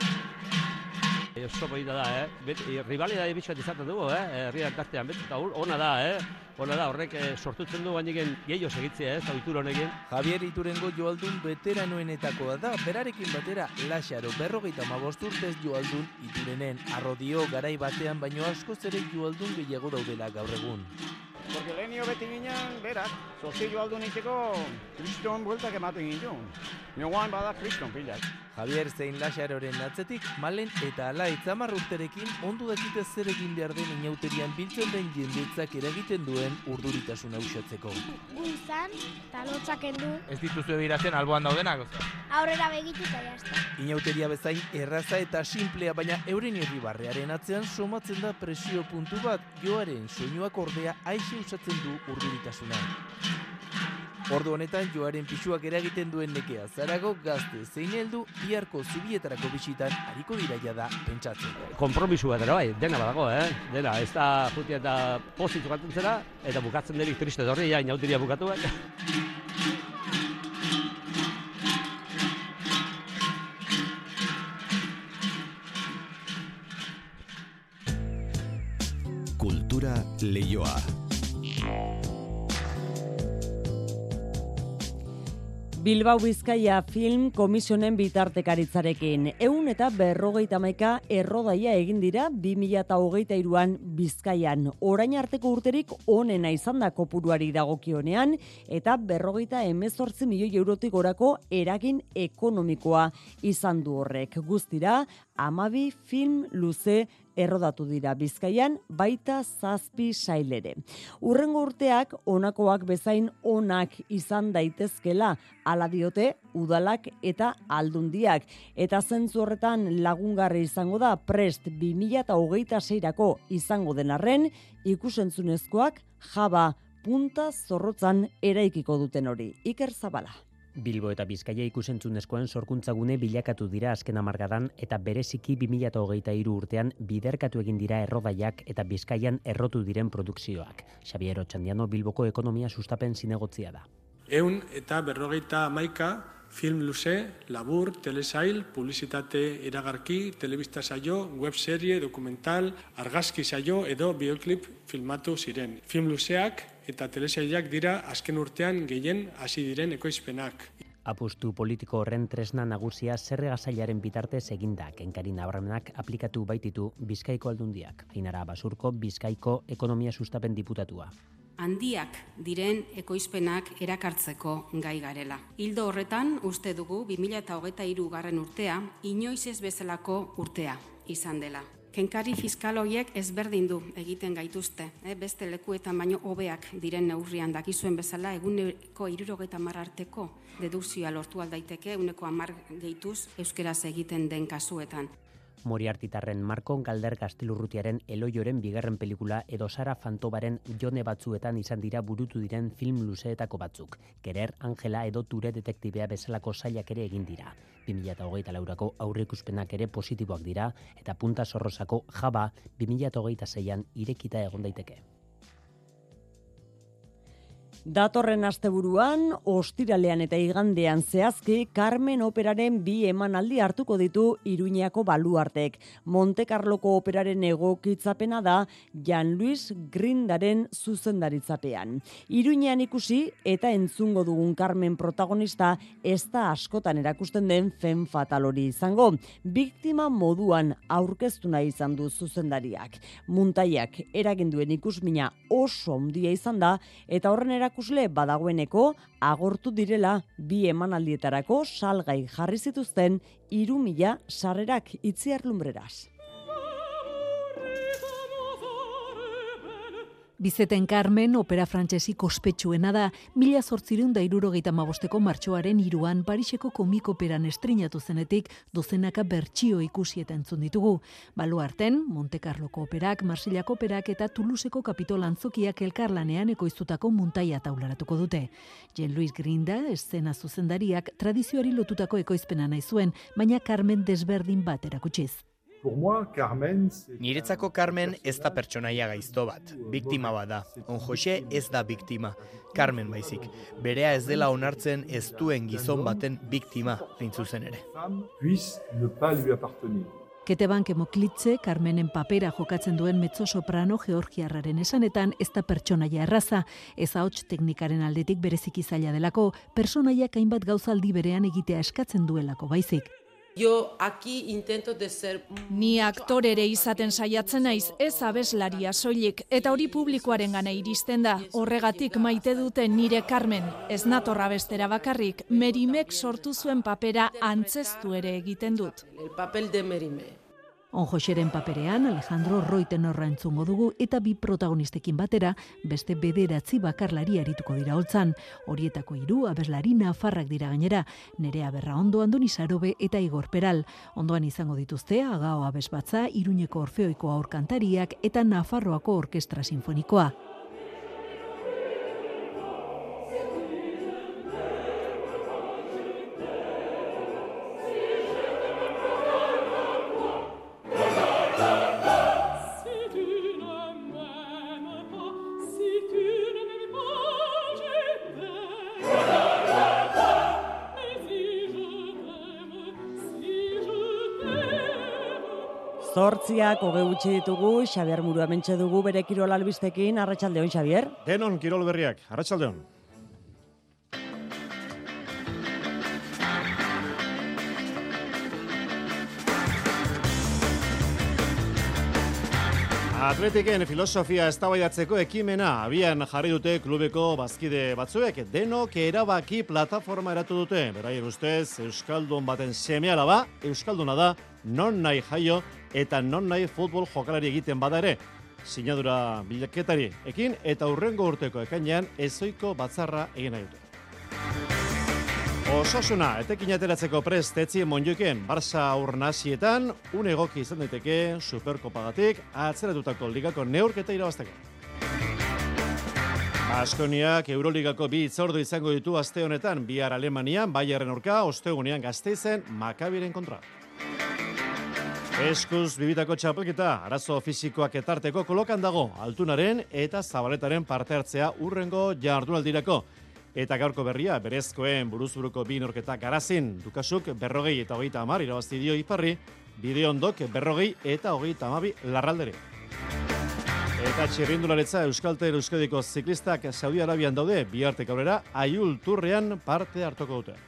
Oso polita da, eh? Bet, rivalidade bitxat izaten dugu, eh? Herriak tartean, bet, eta ona da, eh? Ona da, horrek eh, sortutzen du bainiken gehiago segitzea, eh? Zauitur honekin. Javier Iturengo joaldun veteranoenetakoa da, berarekin batera Laxaro berrogeita hamabost urtez joaldun Iturenen arrodio garai batean baino askoz ere joaldun gehiago daudela gaur egun. Porque lehenio beti ginen, berak, sozio aldun iteko kriston bueltak ematen ginen. Nioan bada kriston pilak. Javier zein Laxaroren atzetik, Malen eta Ala itzamar urterekin ondo dakite zer egin behar den inauterian biltzen den jendetzak eragiten duen urduritasuna usatzeko. Guizan, eta lotzak endu. Ez dituzu ebiratzen alboan daudenak? Aurrera begitu eta jazta. Inauteria bezain erraza eta simplea, baina euren irribarrearen atzean somatzen da presio puntu bat, joaren soinuak ordea aixe usatzen du urduritasuna. Ordu honetan joaren pisuak eragiten duen nekea zarago gazte zein heldu biharko zubietarako bisitan hariko diraia da pentsatzen. Kompromisu bat bai, dena badago, eh? Dena, ez da jutia eta pozitu gaten zera, eta bukatzen derik triste dorri, ja, inauteria bukatu bat. Kultura Leioa. Bilbao Bizkaia Film Komisionen bitartekaritzarekin. Ehun eta berrogeita hamaika errodaia egin dira bi mila hogeita hiruan Bizkaian. Orain arteko urterik onena izan da kopuruari dagokionean eta berrogeita hemezortzi milioi eurotik gorako eragin ekonomikoa izan du horrek. Guztira, hamabi film luze errodatu dira Bizkaian, baita zazpi sailere. Urrengo urteak honakoak bezain onak izan daitezkela, hala diote udalak eta aldundiak. Eta zentzu horretan lagungarri izango da prest bi mila hogeita seirako izango den arren, ikusentzunezkoak jaba punta zorrotzan eraikiko duten hori. Iker Zabala. Bilbo eta Bizkaia ikusentzunezkoen sorkuntzagune bilakatu dira azken hamarkadan eta bereziki bi mila hogeita hiru urtean biderkatu egin dira errodaiak eta Bizkaian errotu diren produkzioak. Xabier Otxandiano Bilboko ekonomia sustapen zinegotzia da. Ehun eta berrogeita hamaika film luze, labur, telesail, publizitate iragarki, telebista saio, webserie, dokumental, argazki saio edo bioklip filmatu ziren. Film luzeak eta telesailak dira azken urtean gehien hasi diren ekoizpenak. Apustu politiko horren tresna nagusia zerga sailaren bitartez eginda, Kenkari Nabarmenak aplikatu baititu Bizkaiko aldundiak. Ainara Basurko Bizkaiko ekonomia sustapen diputatua. Handiak diren ekoizpenak erakartzeko gai garela. Hildo horretan uste dugu bi mila hogeita hiru garren urtea inoiz ez bezalako urtea izan dela. Kenkari fiskal horiek ezberdin du egiten gaituzte, eh? Beste lekuetan baino hobeak diren neurrian dakizuen bezala eguneko hirurogeita hamar arteko dedukzioa lortu aldaiteke eguneko hamar gehituz euskeraz egiten den kasuetan. Moriartitarren Marko Galder Gaztelurrutiaren Eloioren bigarren pelikula edo Sara Fantobaren Jone batzuetan izan dira burutu diren film luzeetako batzuk. Kerer, Angela edo Ture detektibea bezalako sailak ere egin dira. bi mila hogeita laurako aurreikuspenak ere positiboak dira eta Punta Zorrozako Jaba bi mila hogeita seian irekita egon daiteke. Datorren asteburuan, ostiralean eta igandean zehazki, Carmen Operaren bi emanaldi hartuko ditu Iruñako baluartek. Monte Carloko operaren egokitzapena da Jan Luis Grindaren zuzendaritzapean. Iruñean ikusi eta entzungo dugun Carmen protagonista ez da askotan erakusten den fen fatal hori izango. Biktima moduan aurkeztu nahi izan du zuzendariak. Muntaiak eraginduen ikusmina oso handia izan da eta horren erakusmina erakusle badagoeneko agortu direla bi emanaldietarako salgai jarri zituzten hiru mila sarrerak. Itziar Lumbreras. Bizeten Carmen, opera frantsesik ospetsuena da, mila zortzireun da hirurogeita hamabosteko martxoaren hiruan Pariseko komik operan estrinatu zenetik dozenaka bertsio ikusi eta entzun ditugu. Baluarten, Monte Carloko operak, Marsilako operak eta Toulouseko Kapitol antzokiak elkarlanean ekoiztutako muntaia taularatuko dute. Jean-Louis Grinda, eszena zuzendariak, tradizioari lotutako ekoizpena nahi zuen, baina Carmen desberdin bat erakutsiz. Niretzako Carmen ez da pertsonaia gaizto bat, biktima bat da. On Jose ez da biktima, Carmen baizik. Berea ez dela onartzen ez duen gizon baten biktima, hain zuzen ere. Keteban Kemoklitze, Carmenen papera jokatzen duen mezzo-soprano georgiarraren esanetan ez da pertsonaia erraza, ez ahots teknikaren aldetik bereziki zaila delako, pertsonaiak hainbat gauzaldi berean egitea eskatzen duelako baizik. Yo aquí intento de ser... Ni aktorere izaten saiatzen naiz, ez abeslaria soilik, eta hori publikoaren gana iristen da. Horregatik maite duten nire Carmen, ez natorra bestera bakarrik, Merimek sortu zuen papera antzeztu ere egiten dut. El papel de Merime. On Joseren paperean Alejandro Roitenorra entzungo dugu eta bi protagonistekin batera beste bederatzi bakarlari arituko dira holtzan. Horietako hiru abeslari nafarrak dira gainera, Nerea Berraondo, Andoni Sarobe eta Igor Peral. Ondoan izango dituzte Agao Abesbatza, Iruñeko Orfeoiko aurkantariak eta Nafarroako Orkestra Sinfonikoa. Zortziak hoge gutxi ditugu, Xabier Muru hementxe dugu bere kirol albistekin. Arratsaldeon, Xabier. Denon kirol berriak, arratsaldeon. Atletiken filosofia eztabaidatzeko ekimena abian jarri dute klubeko bazkide batzuek. Denok erabaki plataforma eratu dute. Beraien ustez, euskaldun baten seme-alaba, euskalduna da, non nahi jaio eta non nahi futbol jokalari egiten bada ere. Sinadura bilaketari ekin eta hurrengo urteko ekainean ezoiko batzarra egin nahi dute. Osasuna, etekin ateratzeko prest etzi Monjoiken Barça aurnasietan, un egoki izan daiteke Superkopagatik atzeratutako ligako neurketa irabazteko. Baskoniak Euroligako bi hitzordu izango ditu aste honetan, bihar Alemanian, Bayerren aurka, ostegunean Gasteizen, Makabiren kontra. Eskuz bibitako txapelketa, arazo fisikoak etarteko kolokan dago, Altunaren eta Zabaletaren parte hartzea urrengo jardunaldirako. Eta gaurko berria, berezkoen buruzburuko bi norketa garazin, Dukasuk berrogei eta hogeita hamar irabazti dio Iparri, Bideondok berrogei eta hogeita hamabi Larraldere. Eta txirrindularitza Euskaltel Euskadiko ziklistak Saudi Arabian daude, bihartek aurrera Aiul Turrean parte hartuko dute.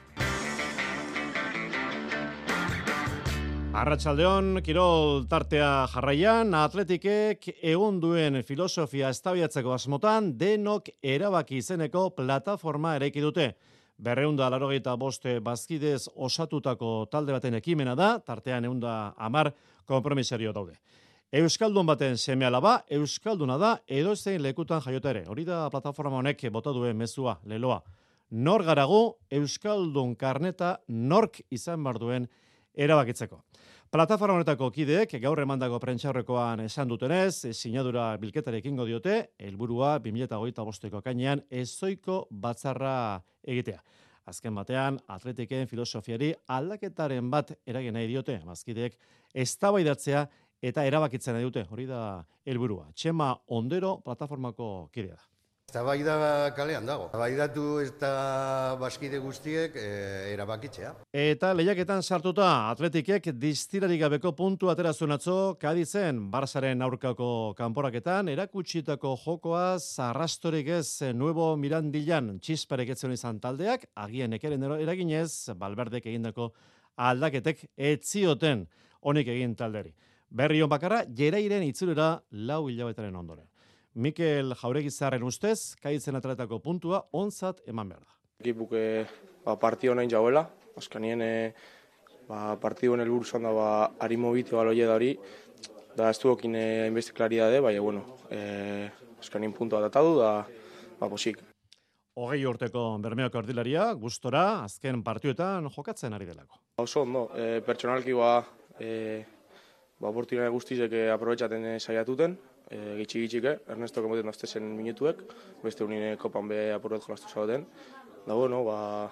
Arratsaldeon, kirol tartea jarraian, Atletikek egun duen filosofia eztabaidatzeko asmotan denok erabaki izeneko plataforma eraiki dute. Berreunda laurogeita bost bazkidez osatutako talde baten ekimena da, tartean ehunda hamar konpromisario daude. Euskaldun baten seme-alaba, euskalduna da edozein lekutan jaiota ere. Hori da plataforma honek bota duen mezua, leloa. Nor garagu, euskaldun karneta nork izan bar duen erabakitzeko. Plataforma honetako kideek gaur emandako prentsaurrekoan esan dutenez, sinadura bilketari ekingo diote, helburua bi mila hogeita bosteko ekainean ezoiko batzarra egitea. Azken batean, Atletiken filosofiari aldaketaren bat eragin nahi diote, bazkideek eztabaidatzea eta erabakitzen nahi dute. Hori da helburua. Txema Ondero plataformako kidea da. Eztabaida kalean dago. Eztabaidatu eta bazkide guztiek e, erabakitzea. Eta lehiaketan sartuta Atletikek distirarik gabeko puntu atera zuen atzo Kadizen Barsaren aurkako kanporaketan erakutsitako jokoa zarrastorik ez Nuevo Mirandilan txisparek etzen izan taldeak, agian ekeren eraginez Valverdek egindako aldaketek etzioten honik egin talderi. Berri on bakarra Jerairen itzulera lau hilabetaren ondoren. Mikel Jauregizarren ustez, Kaitzen atletako puntua onzat eman behar da. Ekipuk ba, partio nahin jauela, azkanien e, ba, partiduen helburu zan da ba, harimo bite baloie da hori, da ez duokin hainbeste klaridade, baina bueno, e, azkenin puntua datadu da, ba, posik. Hogei urteko Bermeoko erdilaria, gustora, azken partioetan jokatzen ari delako. Oso ondo, e, pertsonalki ba, e, ba, oportunidade guztizek aprobetxaten saiatuten, e, gitxi-gitxike, Ernesto kemoten daztezen minutuek, beste unine kopan be apurbet jolastu zagoten. Da, bueno, ba,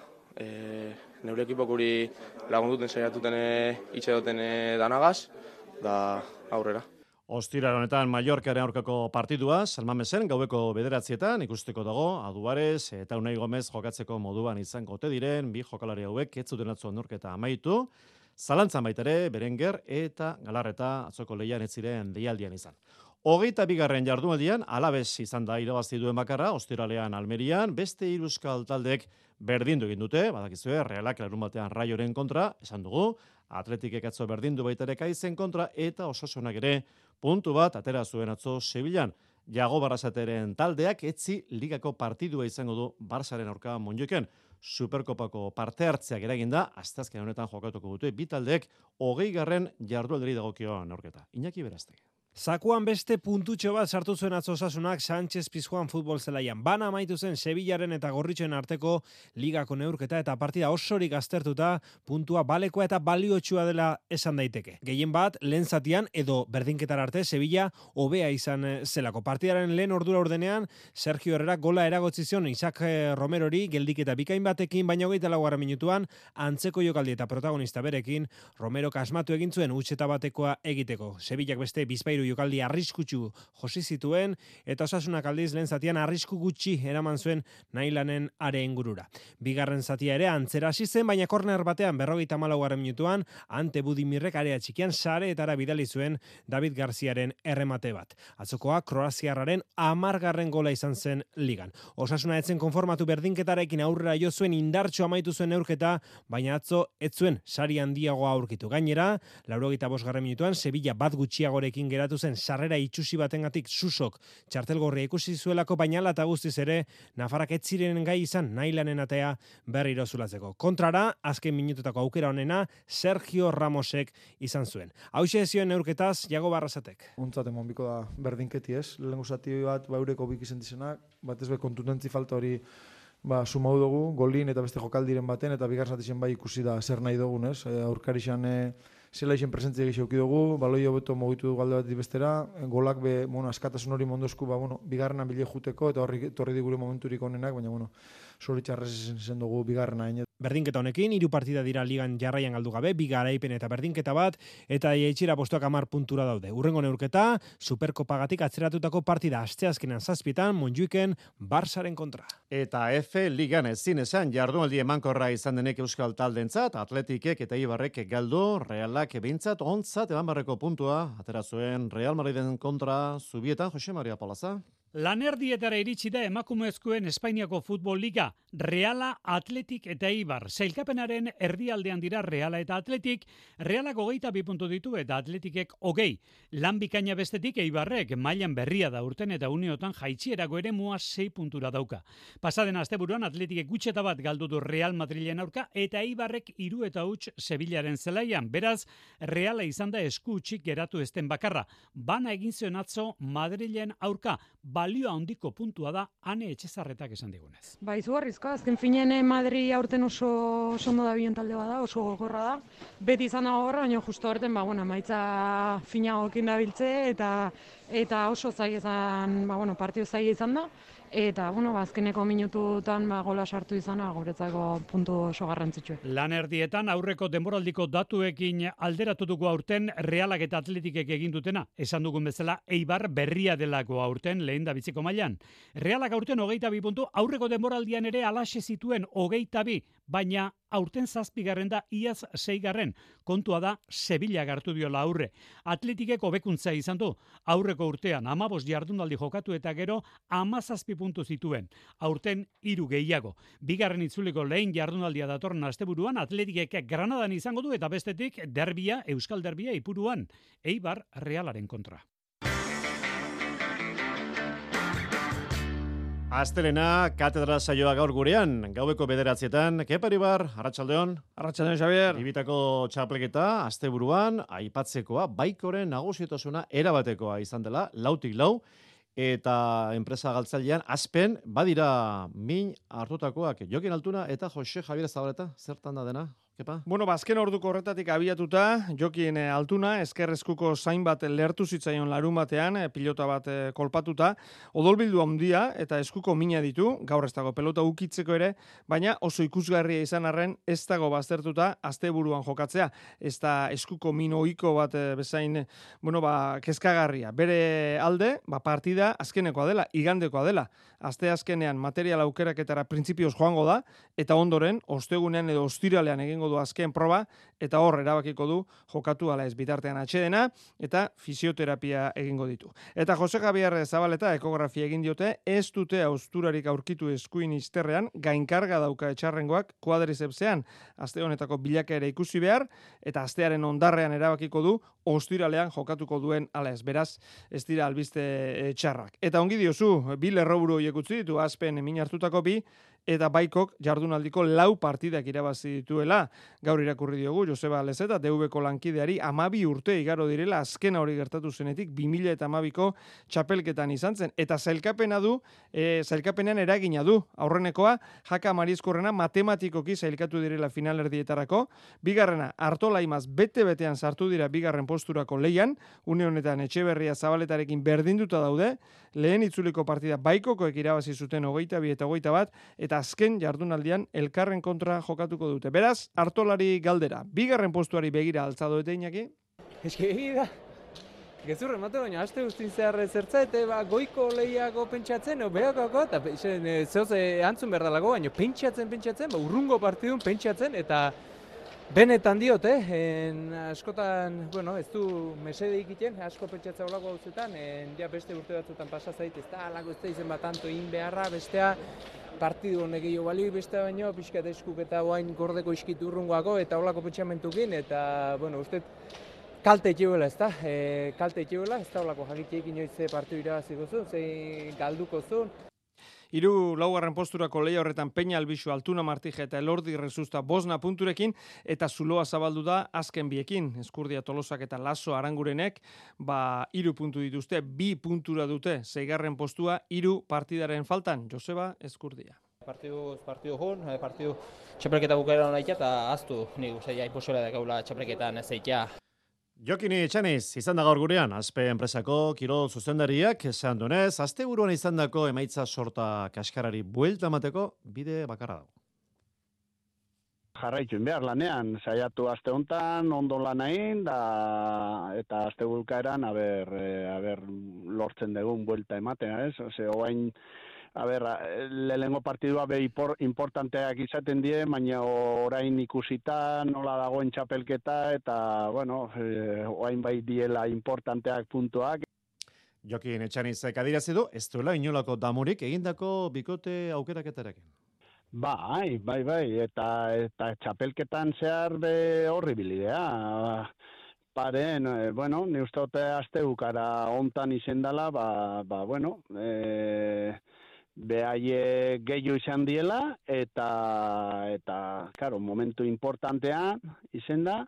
e, neure ekipok hori lagunduten saiatuten itxe duten danagaz, da aurrera. Ostiral honetan Mallorcaren aurkako partidua, Salmamesen gaueko bederatzietan ikusteko dago, Aduarez eta Unai Gomez jokatzeko moduan izango ote diren, bi jokalari hauek ez zuten atzo neurketa amaitu, zalantzan baita ere, Berenguer eta Galarreta atzoko lehian ez ziren deialdian izan. Hogeita bigarren jardunaldian, Alabez izan da irabazi duen bakarra, Ostiralean Almerian, beste hiru euskal taldeek berdindu egin dute, badakizue, Realak larun batean Raioren kontra, esan dugu, Atletikek atzo berdindu baita ere Kaizen kontra, eta Osasunak ere puntu bat atera zuen atzo Sevillan. Jago Barrasateren taldeak etzi ligako partidua izango du Barsaren aurka Monjoiken. Superkopako parte hartzeak eraginda, asteazken honetan jokatuko dute bi taldeek hogei garren jardualderi dagokio neurketa. Iñaki Beraztegi. Zakuan beste puntutxo bat sartu zuen atzo Osasunak Sánchez Pizjuan futbol zelaian. Bana amaitu zen Sevillaren eta Gorritxoen arteko ligako neurketa eta partida osorik aztertuta puntua balekoa eta baliotsua dela esan daiteke. Gehien bat, lehen zatian edo berdinketar arte Sevilla hobea izan zelako. Partidaren lehen ordura ordenean Sergio Herrera gola eragotzi zion Isaac Romerori geldiketa bikain batekin, baina hogeita laugarren minutuan antzeko jokaldi eta protagonista berekin Romero kasmatu egin zuen utxeta batekoa egiteko. Sevillak beste bizpairu jokaldi arriskutsu josi zituen eta Osasunak aldiz lehen zatian arrisku gutxi eraman zuen Nailanen are ingurura. Bigarren zatia ere antzera hasi zen, baina korner batean berrogeita hamalaugarren minutuan Ante Budimirrek area txikian sareetara bidali zuen David Garziaren erremate bat. Atzokoa kroaziarraren hamargarren gola izan zen ligan. Osasuna etzen konformatu berdinketarekin aurrera jo zuen indartxo amaitu zuen neurketa, baina atzo ez zuen sari handiagoa aurkitu. Gainera, laurogeita bosgarren minutuan Sevilla bat gutxiagorekin geratu zen sarrera itxusi batengatik Susok txartelgorria ikusi zuelako, baina ala eta guztiz ere Nafarrak ez ziren gai izan Nailanen atea berriro zulatzeko. Kontrara, azken minututako aukera honena Sergio Ramosek izan zuen. Hauxe zioen neurketaz Jago Barrasatek. Ontzat emon biko da berdinketi ez, lehenko zati bat ba eureko bik izan dizenak, bat ez be kontutentzi falta hori ba, sumau dugu, golin eta beste jokaldiren baten, eta bigar zatizien bai ikusi da zer nahi dugun ez, e, aurkarixan e, zela isen presentzia gixauki dugu, baloi hobeto mogitu dugu alde bat bestera, golak be, bueno, askatasun hori mondozku, ba, bueno, bigarrena bile juteko, eta horri torri digure momenturik onenak, baina, bueno, zoritxarrez zen dugu bigarrena. Berdinketa honekin, hiru partida dira ligan jarraian galdu gabe, bi garaipen eta berdinketa bat, eta jaitxira postuak hamar puntura daude. Urrengo neurketa, Superkopagatik atzeratutako partida asteazkenan zazpietan, Montjuiken, Barsaren kontra. Eta F ligan ezin esan jardunaldi emankorra izan denek euskal taldentzat, Atletikek eta Ibarrek galdu, Realak behintzat ontzat eban barreko puntua, atera zuen Real Madriden kontra Zubietan, Jose Maria Palaza. Lanerdietara iritsi da emakumezkoen Espainiako Futbol Liga, Reala, Atletik eta Ibar. Sailkapenaren erdialdean dira Reala eta Atletik, Realak hogeita bi puntu ditu eta Atletikek hogei. Lan bikaina bestetik Eibarrek mailan berria da urten eta uneotan jaitsierako ere mua sei puntura dauka. Pasaden asteburuan Atletikek gutxeta bat galdu du Real Madrilen aurka eta Eibarrek hiru eta huts Sevillaren zelaian. Beraz, Reala izan da esku utzik geratu ezten bakarra. Bana egin zion atzo Madrilen aurka. Balio handiko puntua da Ane Etxezarretak esan digunez. Ba, izugarrizko, azken finean Madri aurten oso sondo da bion talde bada, oso gogorra da. Beti izan da gogorra, baina justo horten, ba, bueno, maitza finagokin da biltze, eta, eta oso zai izan, ba, bueno, partio zai izan da. Eta, bueno, azkeneko minututan ba, gola sartu izana guretzako puntu oso garrantzitsue. Lan erdietan aurreko denboraldiko datuekin alderatu dugu aurten Realak eta Atletikek egin dutena. Esan dugun bezala, Eibar berria delako aurten lehen da biziko mailan. Realak aurten hogeita bi puntu, aurreko denboraldian ere alaxe zituen hogeita bi, baina aurten zazpigarren da iaz seigarren. Kontua da Sevilla hartu diola aurre. Atletikek hobekuntza izan du. Aurreko urtean hamabost jardunaldi jokatu eta gero hamazazpi puntu zituen. Aurten hiru gehiago. Bigarren itzuliko lehen jardunaldia datorren asteburuan Atletikek Granadan izango du eta bestetik derbia, Euskal Derbia Ipuruan. Eibar Realaren kontra. Astelena, katedra saioa gaur gurean, gaueko bederatzietan, Keparibar, Arratsaldeon. Arratsaldeon, Xavier. Bibitako txapleketa, asteburuan, aipatzekoa, baikoren nagusitasuna erabatekoa izan dela, lautik lau, eta enpresa galtzailean, azpen, badira min hartutakoak, Jokin Altuna eta Jose Javier Zabaleta, zertan da dena? Kepa? Bueno, bazken orduko horretatik abiatuta, Jokin Altuna, eskerrezkuko zain bat lehertu zitzaion larun batean, pilota bat kolpatuta, odolbildu handia eta eskuko mina ditu, gaur ez dago pelota ukitzeko ere, baina oso ikusgarria izan arren ez dago baztertuta asteburuan jokatzea. Ez da eskuko min ohiko bat bezain, bueno, ba, kezkagarria. Bere alde, ba, partida azkenekoa dela, igandekoa dela. Aste azkenean material aukeraketara printzipioz joango da, eta ondoren, ostegunean edo ostiralean egingo du azken proba, eta hor erabakiko du jokatu ala ez bitartean atxedena, eta fisioterapia egingo ditu. Eta Jose Javier Zabaleta ekografia egin diote, ez dute austurarik aurkitu eskuin izterrean, gainkarga dauka etxarrengoak kuadrizepsean, aste honetako bilakaera ikusi behar, eta astearen ondarrean erabakiko du, ostiralean jokatuko duen ala ez, beraz, ez dira albiste txarrak. Eta ongi diozu, bi lerroburu horiek utzi ditu, azpen min hartutako bi, eta baikok jardunaldiko lau partidak irabazi dituela. Gaur irakurri diogu Joseba Lezeta, D V ko lankideari amabi urte igaro direla azkena hori gertatu zenetik bi mila hamabiko txapelketan izan zen. Eta zailkapena du, e, zailkapenean eragina du. Aurrenekoa, Jaka Mariezkorrena matematikoki zailkatu direla finalerdietarako. Bigarrena, Artola Imaz bete-betean sartu dira bigarren posturako leian. Une honetan Etxeberria Zabaletarekin berdinduta daude. Lehen itzuliko partida baikokoek irabazi zuten hogeita bi eta hogeita bat, eta azken jardunaldian elkarren kontra jokatuko dute. Beraz, Artolari galdera. Bigarren postuari begira altzadoete Iñaki? Eske egia, gezurre emate baina, aste guztin zehar zertza, eta ba, goiko lehiago pentsatzen, o behakako, eta zehoz antzun behar dalago, baina pentsatzen, pentsatzen, ba, urrungo partidun pentsatzen, eta benetan diot, eh? En, askotan, bueno, ez du mesede ikiten, asko pentsatza olako gauzetan, ja beste urte batzutan pasa zait, ez da, alako ez da izen bat tanto in beharra, bestea, partidu honek gehiago balio, bestea baino, pixka eta eskuk eta oain gordeko iskitu urrungoako, eta olako pentsamentukin, eta, bueno, uste, kalte etxebuela, ez da, e, kalte etxebuela, ez da olako jakitxeik inoiz partidu irabaziko zuen, zein galduko zuen. Hiru laugarren posturako lehia horretan Peña Albizu, Altuna Martija eta Elordi Rezusta bosna punturekin, eta zuloa zabaldu da azken biekin. Eskurdia Tolosak eta Laso Arangurenek, ba, hiru puntu dituzte, bi puntura dute, zeigarren postua, hiru partidaren faltan. Joseba Eskurdia. Partidu, partidu hon, partidu txapelketa bukaeran nahi eta aztu, nik uste, iposora da gaula txapelketan ez eitea. Jokini Etxaniz, izan da gaur gurean, Azpe enpresako kirol zuzendariak esan duenez, azte buruan izan dako emaitza sorta kaskarari buelta emateko bide bakarra dago. Jarraituen behar lanean, saiatu aste hontan, ondo lan egin, da, eta aste bukaeran, aber, aber lortzen dugun buelta ematen, ez? Ose, oain, A ber, lehengo partidua be importanteak izaten die, baina orain ikusita nola dagoen txapelketa eta, bueno, orain bai diela importanteak puntuak. Jokin Etxanizek adirazi du, ez duela inolako damurik egindako bikote aukeraketarekin. Bai, bai, bai, eta, eta txapelketan zehar be horri bilidea. Paren, eh, bueno, ni uste dute aste bukara hontan izendala, ba, ba, bueno, eh, behaie gehiago izan diela, eta, eta, karo, momentu importantean izen da,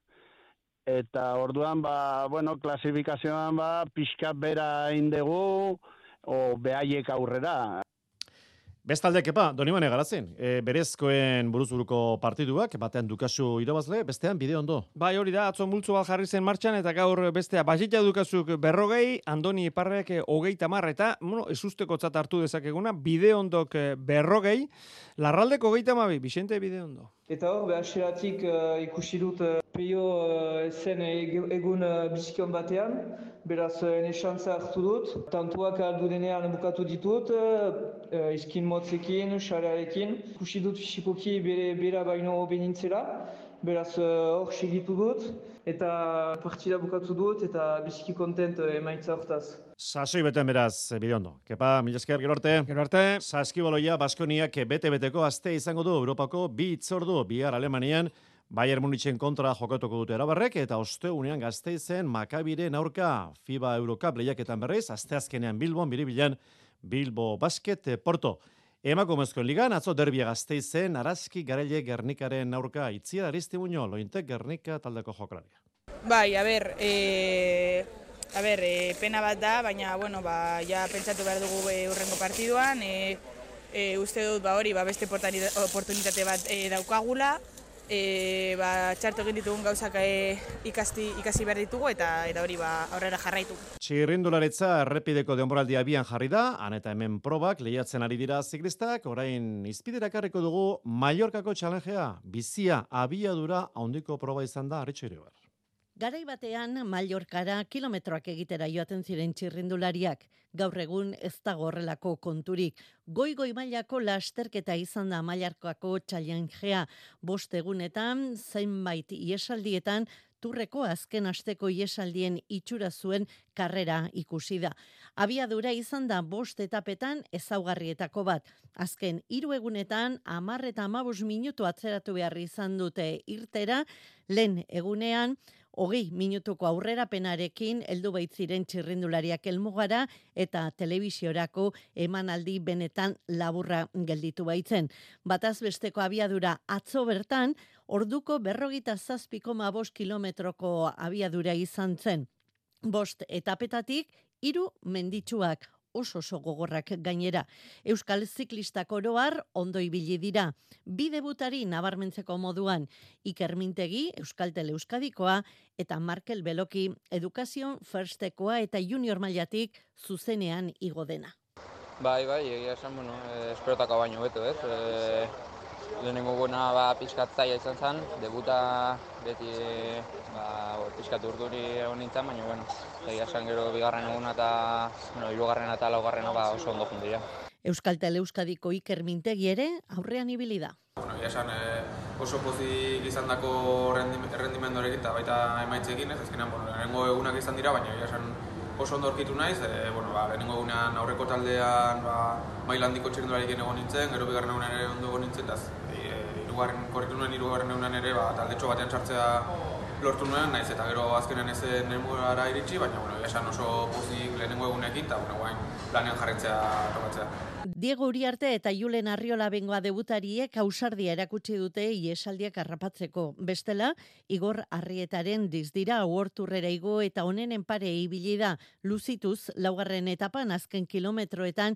eta orduan, ba, bueno, klasifikazioan, ba, pixka bera indegu, o behaiek aurrera. Bestalde, kepa, Donibane Garatzen, e, berezkoen buruzburuko partiduak, batean Dukasu irabazle, bestean bide ondo. Bai, hori da, atzo multzo bat jarri zen martxan, eta gaur bestea, Basita Dukasuk berrogei, Andoni Iparrek hogei tamar, eta, bueno, ez usteko tzat hartu dezakeguna, bide ondok berrogei, Larraldeko hogei tamabi, Bixente bide ondo. Eta hor, behaseratik uh, ikusi dut uh, peio uh, zen egun uh, bizikion batean, beraz uh, nesantza hartu dut. Tantuak aldu denean bukatu ditut, uh, izkin motzekin, xarearekin. Ikusi dut fisipoki bere bera baino benintzela, beraz hor uh, segitu dut. Eta partida bukatu dut eta biziki kontent uh, emaitza hortaz. Sasoi beten beraz, bide ondo. Kepa, mila esker, gero arte. Gero arte. Saskibaloia, Baskoniak bete-beteko aste izango du Europako bi itzordu, bihar Alemanian, Bayern Munichen kontra jokatuko dute erabarrek, eta osteunean Gasteizen Makabiren aurka FIBA Eurocup lehiaketan berriz, asteazkenean Bilbon, biribilan Bilbo Basket Porto. Emakumezkoen ligan, atzo derbia Gasteizen, Araski Garaile Gernikaren aurka, Itziar Aristimuño, Lointek Gernika taldeko jokalaria. Bai, a ber, eh... A A ber, e, pena bat da, baina, bueno, ba, ja pentsatu behar dugu e, urrengo partiduan, e, e, uste dut, ba, hori, ba, beste oportunitate bat e, daukagula, e, ba, txarto egin ditugun gauzak e, ikasti, ikasi behar ditugu eta eta hori ba, aurrera jarraitu. Txirrindularitza errepideko denboraldi abian jarri da, han eta hemen probak lehiatzen ari dira ziklistak, orain izpiderakarriko dugu Mallorcako txalengea, bizia abiadura handiko proba izan da, Arritxo Iribar. Garai batean Mallorcara kilometroak egitera joaten ziren txirrindulariak. Gaur egun ez dago horrelako konturik. Goi-goi mailako lasterketa izan da Mallorcako txalengea. Bost egunetan, zenbait iesaldietan, Turreko azken asteko iesaldien itxura zuen karrera ikusi da. Abiadura izan da bost etapetan ezaugarrietako bat. Azken hiru egunetan hamar eta hamabost minutu atzeratu behar izan dute irtera, lehen egunean hogei minutuko aurrerapenarekin heldu baitziren txirrindulariak helmugara eta telebisiorako emanaldi benetan laburra gelditu baitzen. Bataz besteko abiadura atzo bertan, orduko berrogita zazpi koma bost kilometroko abiadura izan zen. Bost etapetatik, hiru menditsuak, oso oso gogorrak gainera. Euskal ziklistak oroar ondo ibili dira. Bi debutari nabarmentzeko moduan, Iker Mintegi, Euskaltel Euskadikoa, eta Markel Beloki, Educazion Firstekoa eta Junior mailatik zuzenean igo dena. Bai, bai, egia esan, bueno, eh, esperotako baino beto, ez? Eh, lehenengo gona ba, pixkat zaila izan zen, debuta beti ba, pixkat urduri egon nintzen, baina, bueno, egia esan gero bigarren eguna eta, bueno, hirugarrena eta laugarrena ba, oso ondo jundira. Euskaltel Euskadiko Iker Mintegi ere aurrean ibili da. Bueno, egia esan eh, oso pozik izan dako errendimenduarekin eta baita emaitzekin, ez azkenean, bueno, lehenengo egunak izan dira, baina egia esan oso ondo aurkitu naiz, e, bueno, ba, lehenengo egunean aurreko taldean ba, maila handiko txirrindularekin egon nintzen, gero bigarren egunean ere ondo egon nintzen, eta e, irugarren, korritu nuen irugarren egunean ere ba, taldetxo batean sartzea lortu nuen, naiz eta gero azkenean ez nemugara iritsi, baina bueno, esan oso pozik lehenengo egunekin, eta bueno, guain planean jarretzea tokatzea. Diego Uriarte eta Julen Arriola bengoa debutariek ausardia erakutsi dute iesaldiak harrapatzeko. Bestela, Igor Arrietaren dizdira oorturrera igo eta honenen pare ibili da luzituz laugarren etapan azken kilometroetan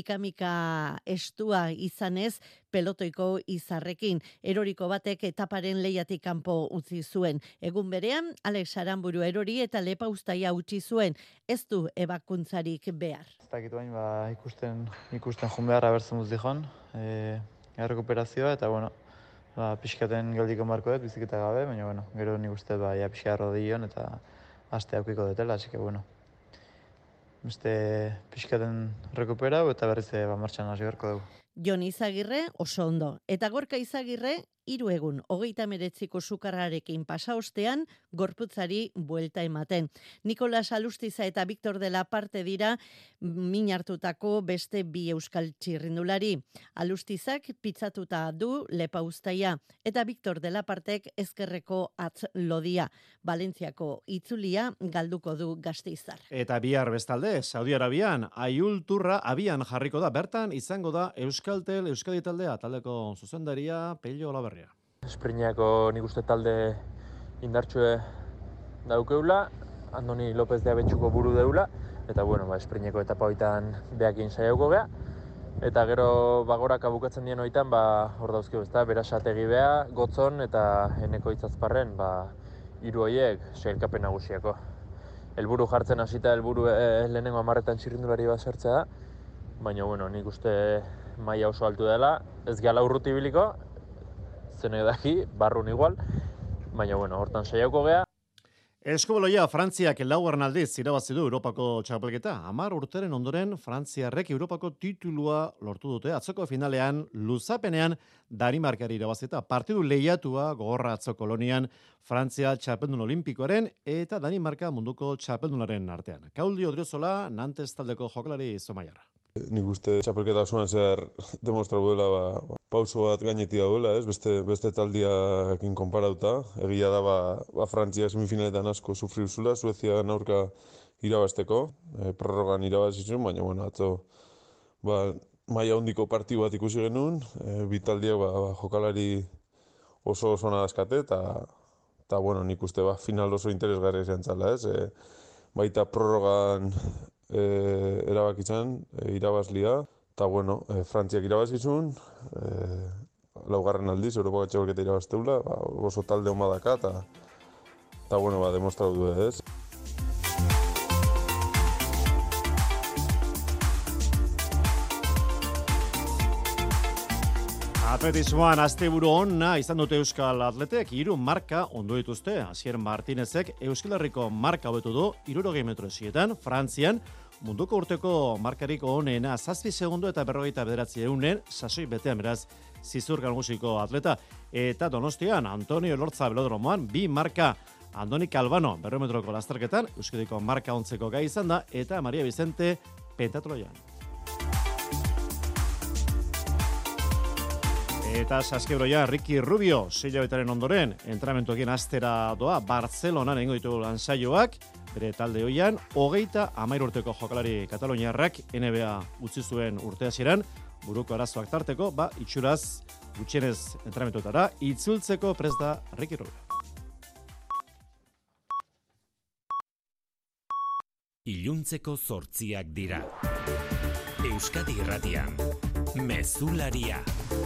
ikamika estua izanez pelotoiko izarrekin. Eroriko batek etaparen lehiatik kanpo utzi zuen. Egun berean, Alex Aramburu erori eta lepa uztaia utzi zuen. Ez du ebakuntzarik behar. Ez dakit bain, ba, ikusten, ikusten jun beharra bertzen duz dihon, e, errekuperazioa, eta, bueno, ba, pixkaten geldiko marko dut, biziketa gabe, baina, bueno, gero nik uste, ba, ja, pixka rodion, eta aste aukiko dutela, así que, bueno, beste pixkaten rekuperau, eta berriz, ba, martxan hasi beharko dugu. Jon Izagirre oso ondo, eta Gorka Izagirre hiru egun hogeita hemeretziko sukarrarekin pasa ostean gorputzari buelta ematen. Nikolas Alustiza eta Victor de la Parte dira min hartutako beste bi euskal txirrindulari. Alustizak pitzatuta du lepa uztaia eta Victor de la Partek ezkerreko atz lodia. Valentziako itzulia galduko du Gasteiztar. Eta bihar bestalde, Saudi Arabian, Aiul Turra abian jarriko da, bertan izango da Euskaltel Euskadi taldea, taldeko zuzendaria Pello Olaberria. Espriñako nik uste talde indartsue daukeula, Andoni López de Abetxuko buru deula, eta bueno, ba, espriñeko etapa hoitan beakin saiauko gea, eta gero bagorak abukatzen dien hoitan, ba, hor dauzkio, ezta, Berasategi bea, Gotzon eta Eneko Itzazparren, ba, hiru horiek sailkapen nagusiako. Helburu jartzen hasita helburu eh, lehenengo hamarretan txirrindulari bat sartzea da, baina bueno, nik uste maila oso altu dela, ez gehala urruti biliko, zene daki, barrun igual, baina bueno, hortan saiauko gea. Eskoboloia Frantziak laugarren aldiz irabazi du Europako txapelketa. Hamar urteren ondoren Frantziarrek Europako titulua lortu dute. Atzoko finalean, luzapenean Danimarkari irabazita. Partidu lehiatua gogorra atzo Kolonian Frantzia txapeldun olimpikoaren eta Danimarka munduko txapeldunaren artean. Kauldi Odriozola, Nantes taldeko jokalari Zomaiarra. Nik uste txapelketa osoan zehar demostratu dela ba, pauso bat gainetik daudela, ez? Beste, beste taldiakin konparauta. Egia da ba, ba Frantzia semifinaletan asko sufriu zula, Suezia aurka irabazteko, e, prorrogan irabazizun, baina bueno, atzo ba, maila hondiko partidu bat ikusi genuen, e, bi taldiak ba, ba, jokalari oso oso nadazkate, eta eta bueno, nik uste ba, final oso interesgarri izan zala, ez? E, baita prorrogan e, erabakitzen e, irabazlia, eta bueno, e, Frantziak irabazizun, e, laugarren aldiz, Europako txapelketa irabazteula, ba, oso talde hon badaka, eta, eta bueno, ba, demostratu du ez. Atletismoan asteburu ona izan dute Euskal Atletek, hiru marka ondo dituzte. Asier Martinezek Euskal Herriko marka hobetu du hirurogei metro esietan, Frantzian munduko urteko markarik onena zazpi segundo eta berrogeita bederatzi eunen sasoi betean beraz zizur nagusiko atleta. Eta Donostian Antonio Elortza belodromoan bi marka. Andoni Calvano berrehun metroko lasterketan Euskadiko marka ontzeko gai izan da eta Maria Vicente pentatloian. Eta saskibroia Ricky Rubio, sei hilabetaren ondoren, entrenamentuekin astera doa Barcelonan egingo ditu lansaioak, bere talde hoian, hogeita hamahiru urteko jokalari kataloniarrak N B A utzi zuen urte hasieran, buruko arazoak tarteko, ba, itxuraz gutxienez entrenamentuetara, itzultzeko prest da Ricky Rubio. Iluntzeko zortziak dira. Euskadi Irratian, Mezularia.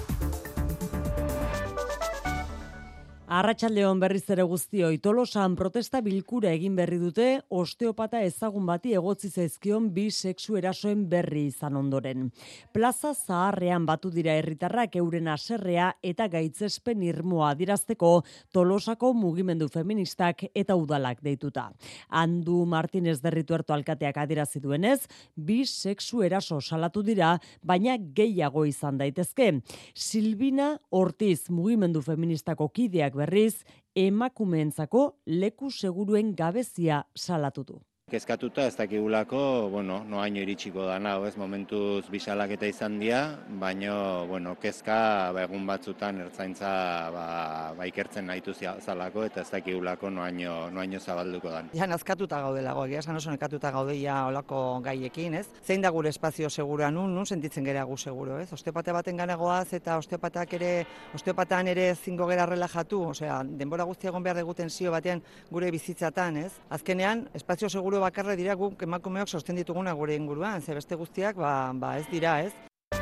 Arratsaldeon berriz ere guztioi, Tolosan protesta bilkura egin berri dute osteopata ezagun bati egotzi zaizkion bi sexu erasoen berri izan ondoren. Plaza Zaharrean batu dira herritarrak euren haserrea eta gaitzespen irmoa adierazteko Tolosako mugimendu feministak eta udalak deituta. Andu Martinez Derrituerto alkateak adierazi duenez, bi sexu eraso salatu dira, baina gehiago izan daitezke. Silvina Ortiz mugimendu feministako kideak berriz, emakumeentzako leku seguruen gabezia salatu du. Kezkatuta ez dakigulako, bueno, noaino iritsiko dana, ez momentuz bisalaketa izan dira, baino, bueno, kezka ba, egun batzutan ertzaintza ba, ba ikertzen nahitu zalako eta ez dakigulako noaino, noaino zabalduko dan. Ja, nazkatuta gaudelago, egia esan oso nekatuta gaudeia olako gaiekin, ez? Zein da gure espazio segura nun, nun sentitzen gera gu seguro, ez? Osteopate baten ganagoaz eta osteopatak ere, osteopatan ere zingo gera relajatu, osea, denbora guztia egon behar deguten zio batean gure bizitzatan, ez? Azkenean, espazio seguro bakarra dira guk emakumeok sosten dituguna gure inguruan, ze beste guztiak ba, ba ez dira, ez?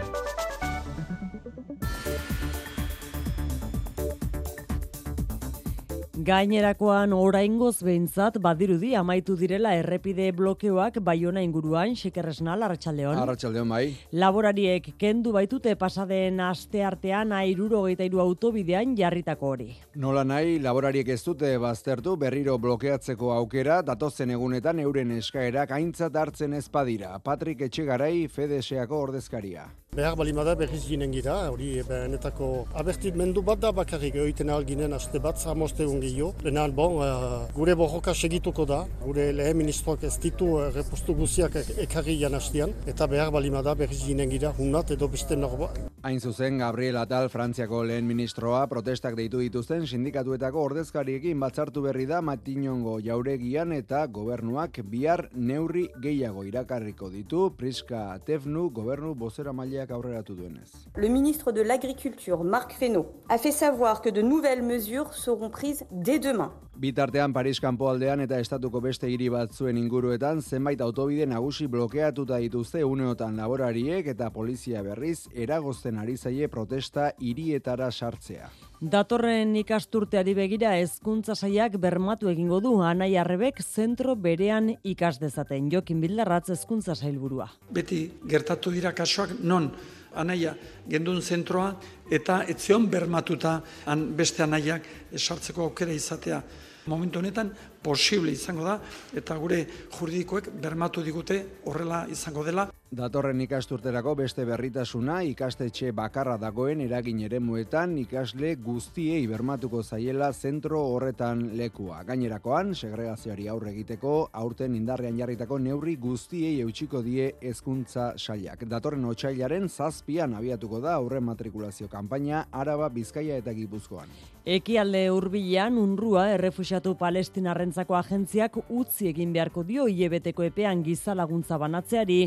Gainerakoan oraingoz behintzat badirudi amaitu direla errepide blokeoak Baiona inguruan, Xikerresnal, Arratsaldeon. Arratsaldeon bai. Laborariek kendu baitute pasaden asteartean hirurogeita hiru autobidean jarritako hori. Nola nahi, laborariek ez dute baztertu berriro blokeatzeko aukera, datozen egunetan euren eskaerak aintzat hartzen ez badira. Patrik Etxegarai, Fedeseako ordezkaria. Behar balimada berriz ginen gira, hori benetako abertimendu bat da bakarrik egiten alginen aste bat, zamoste ungio. Lehenan, bon, uh, gure borroka segituko da, gure lehen ministroak ez ditu uh, repostu guziak ekarri janastian, eta behar balimada berriz ginen gira, hunat edo beste norba. Hain zuzen, Gabriel Atal, Frantziako lehen ministroa, protestak deitu dituzten sindikatuetako ordezkariekin batzartu berri da Matinongo jauregian eta gobernuak bihar neurri gehiago irakarriko ditu, Priska Tefnu gobernu bozera maileak aurreratu duenez. Le ministre de l'Agriculture, Marc Fesneau, a fait savoir que de nouvelles mesures seront prises dès demain. Bitartean Paris kanpoaldean eta estatuko beste hiri batzuen inguruetan zenbait autobide nagusi blokeatuta dituzte uneotan laborariek eta polizia berriz eragozten ari zaie protesta hirietara sartzea. Datorren ikasturteari begira hezkuntza sailak bermatu egingo du Anai Arrebek zentro berean ikas dezaten. Jokin Bildarratz hezkuntza sailburua. Beti gertatu dira kasuak non anaia gendun zentroa eta etzion bermatuta han beste anaiak sartzeko aukera izatea. Momentu honetan posible izango da eta gure juridikoek bermatu digute horrela izango dela. Datorren ikasturterako beste berritasuna ikastetxe bakarra dagoen eragin eremuetan ikasle guztiei bermatuko zaiela zentro horretan lekua. Gainerakoan, segregazioari aurre egiteko aurten indarrean jarritako neurri guztiei eutxiko die hezkuntza sailak. Datorren otsailaren zazpian abiatuko da aurren matrikulazio kanpaina Araba, Bizkaia eta Gipuzkoan. Ekialde hurbilean UNRWA errefuxiatu palestinarrentzako agentziak utzi egin beharko dio hilabeteko epean giza laguntza banatzeari fin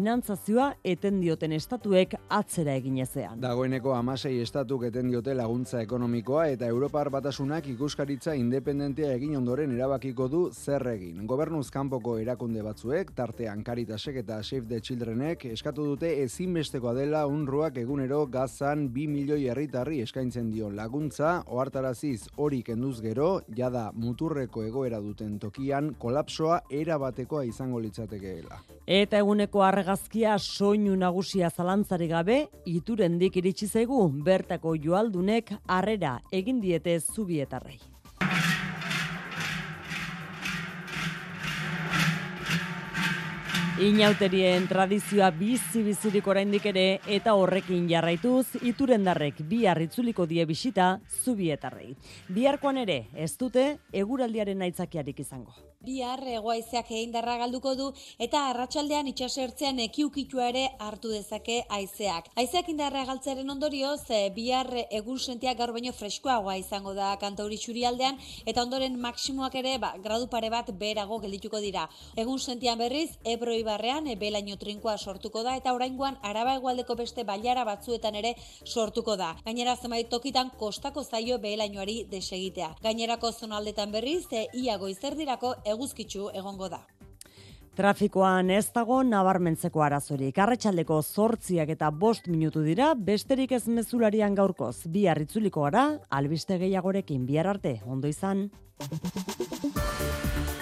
finantzazioa eten dioten estatuek atzera egin ezean. Dagoeneko hamasei estatuk eten diote laguntza ekonomikoa eta Europar Batasunak ikuskaritza independentea egin ondoren erabakiko du zer egin. Gobernuz kanpoko erakunde batzuek, tartean Caritasek eta Save the Childrenek eskatu dute ezinbestekoa dela UNRWAk egunero Gazan bi milioi herritarri eskaintzen dion laguntza, ohartaraziz hori kenduz gero, jada muturreko egoera duten tokian kolapsoa erabatekoa izango litzatekeela. Eta eguneko argazkia soinu nagusia zalantzari gabe, iturendik iritsi zaigu bertako joaldunek harrera egin diete Zubietarrei. Inauterien tradizioa bizi-bizirik oraindik ere eta horrekin jarraituz iturendarrek bihar itzuliko die bisita Zubietarrei. Biharkoan ere ez dute eguraldiaren aitzakiarik izango. Bihar hegoaizeak indarra galduko du eta arratsaldean itsasertzean ekiukitua ere hartu dezake haizeak. Haizeak indarra galtzearen ondorioz bihar egun sentia gaur baino freskoagoa izango da kantauri isurialdean eta ondoren maksimoak ere ba, gradu pare bat beherago geldituko dira. Egun sentian berriz Ebro Ibarrean belaino trinkoa sortuko da eta oraingoan Araba hegoaldeko beste bailara batzuetan ere sortuko da. Gainera zenbait tokitan kostako zaio behelainoari desegitea. Gainerako zonaldetan berriz ia goizerdirako eguzkitsu egongo da. Trafikoan ez dago nabarmentzeko arazorik. Arratsaldeko zortziak eta bost minutu dira, besterik ez mezularian gaurkoz. Bihar itzuliko gara, albiste gehiagorekin bihar arte. Ondo izan.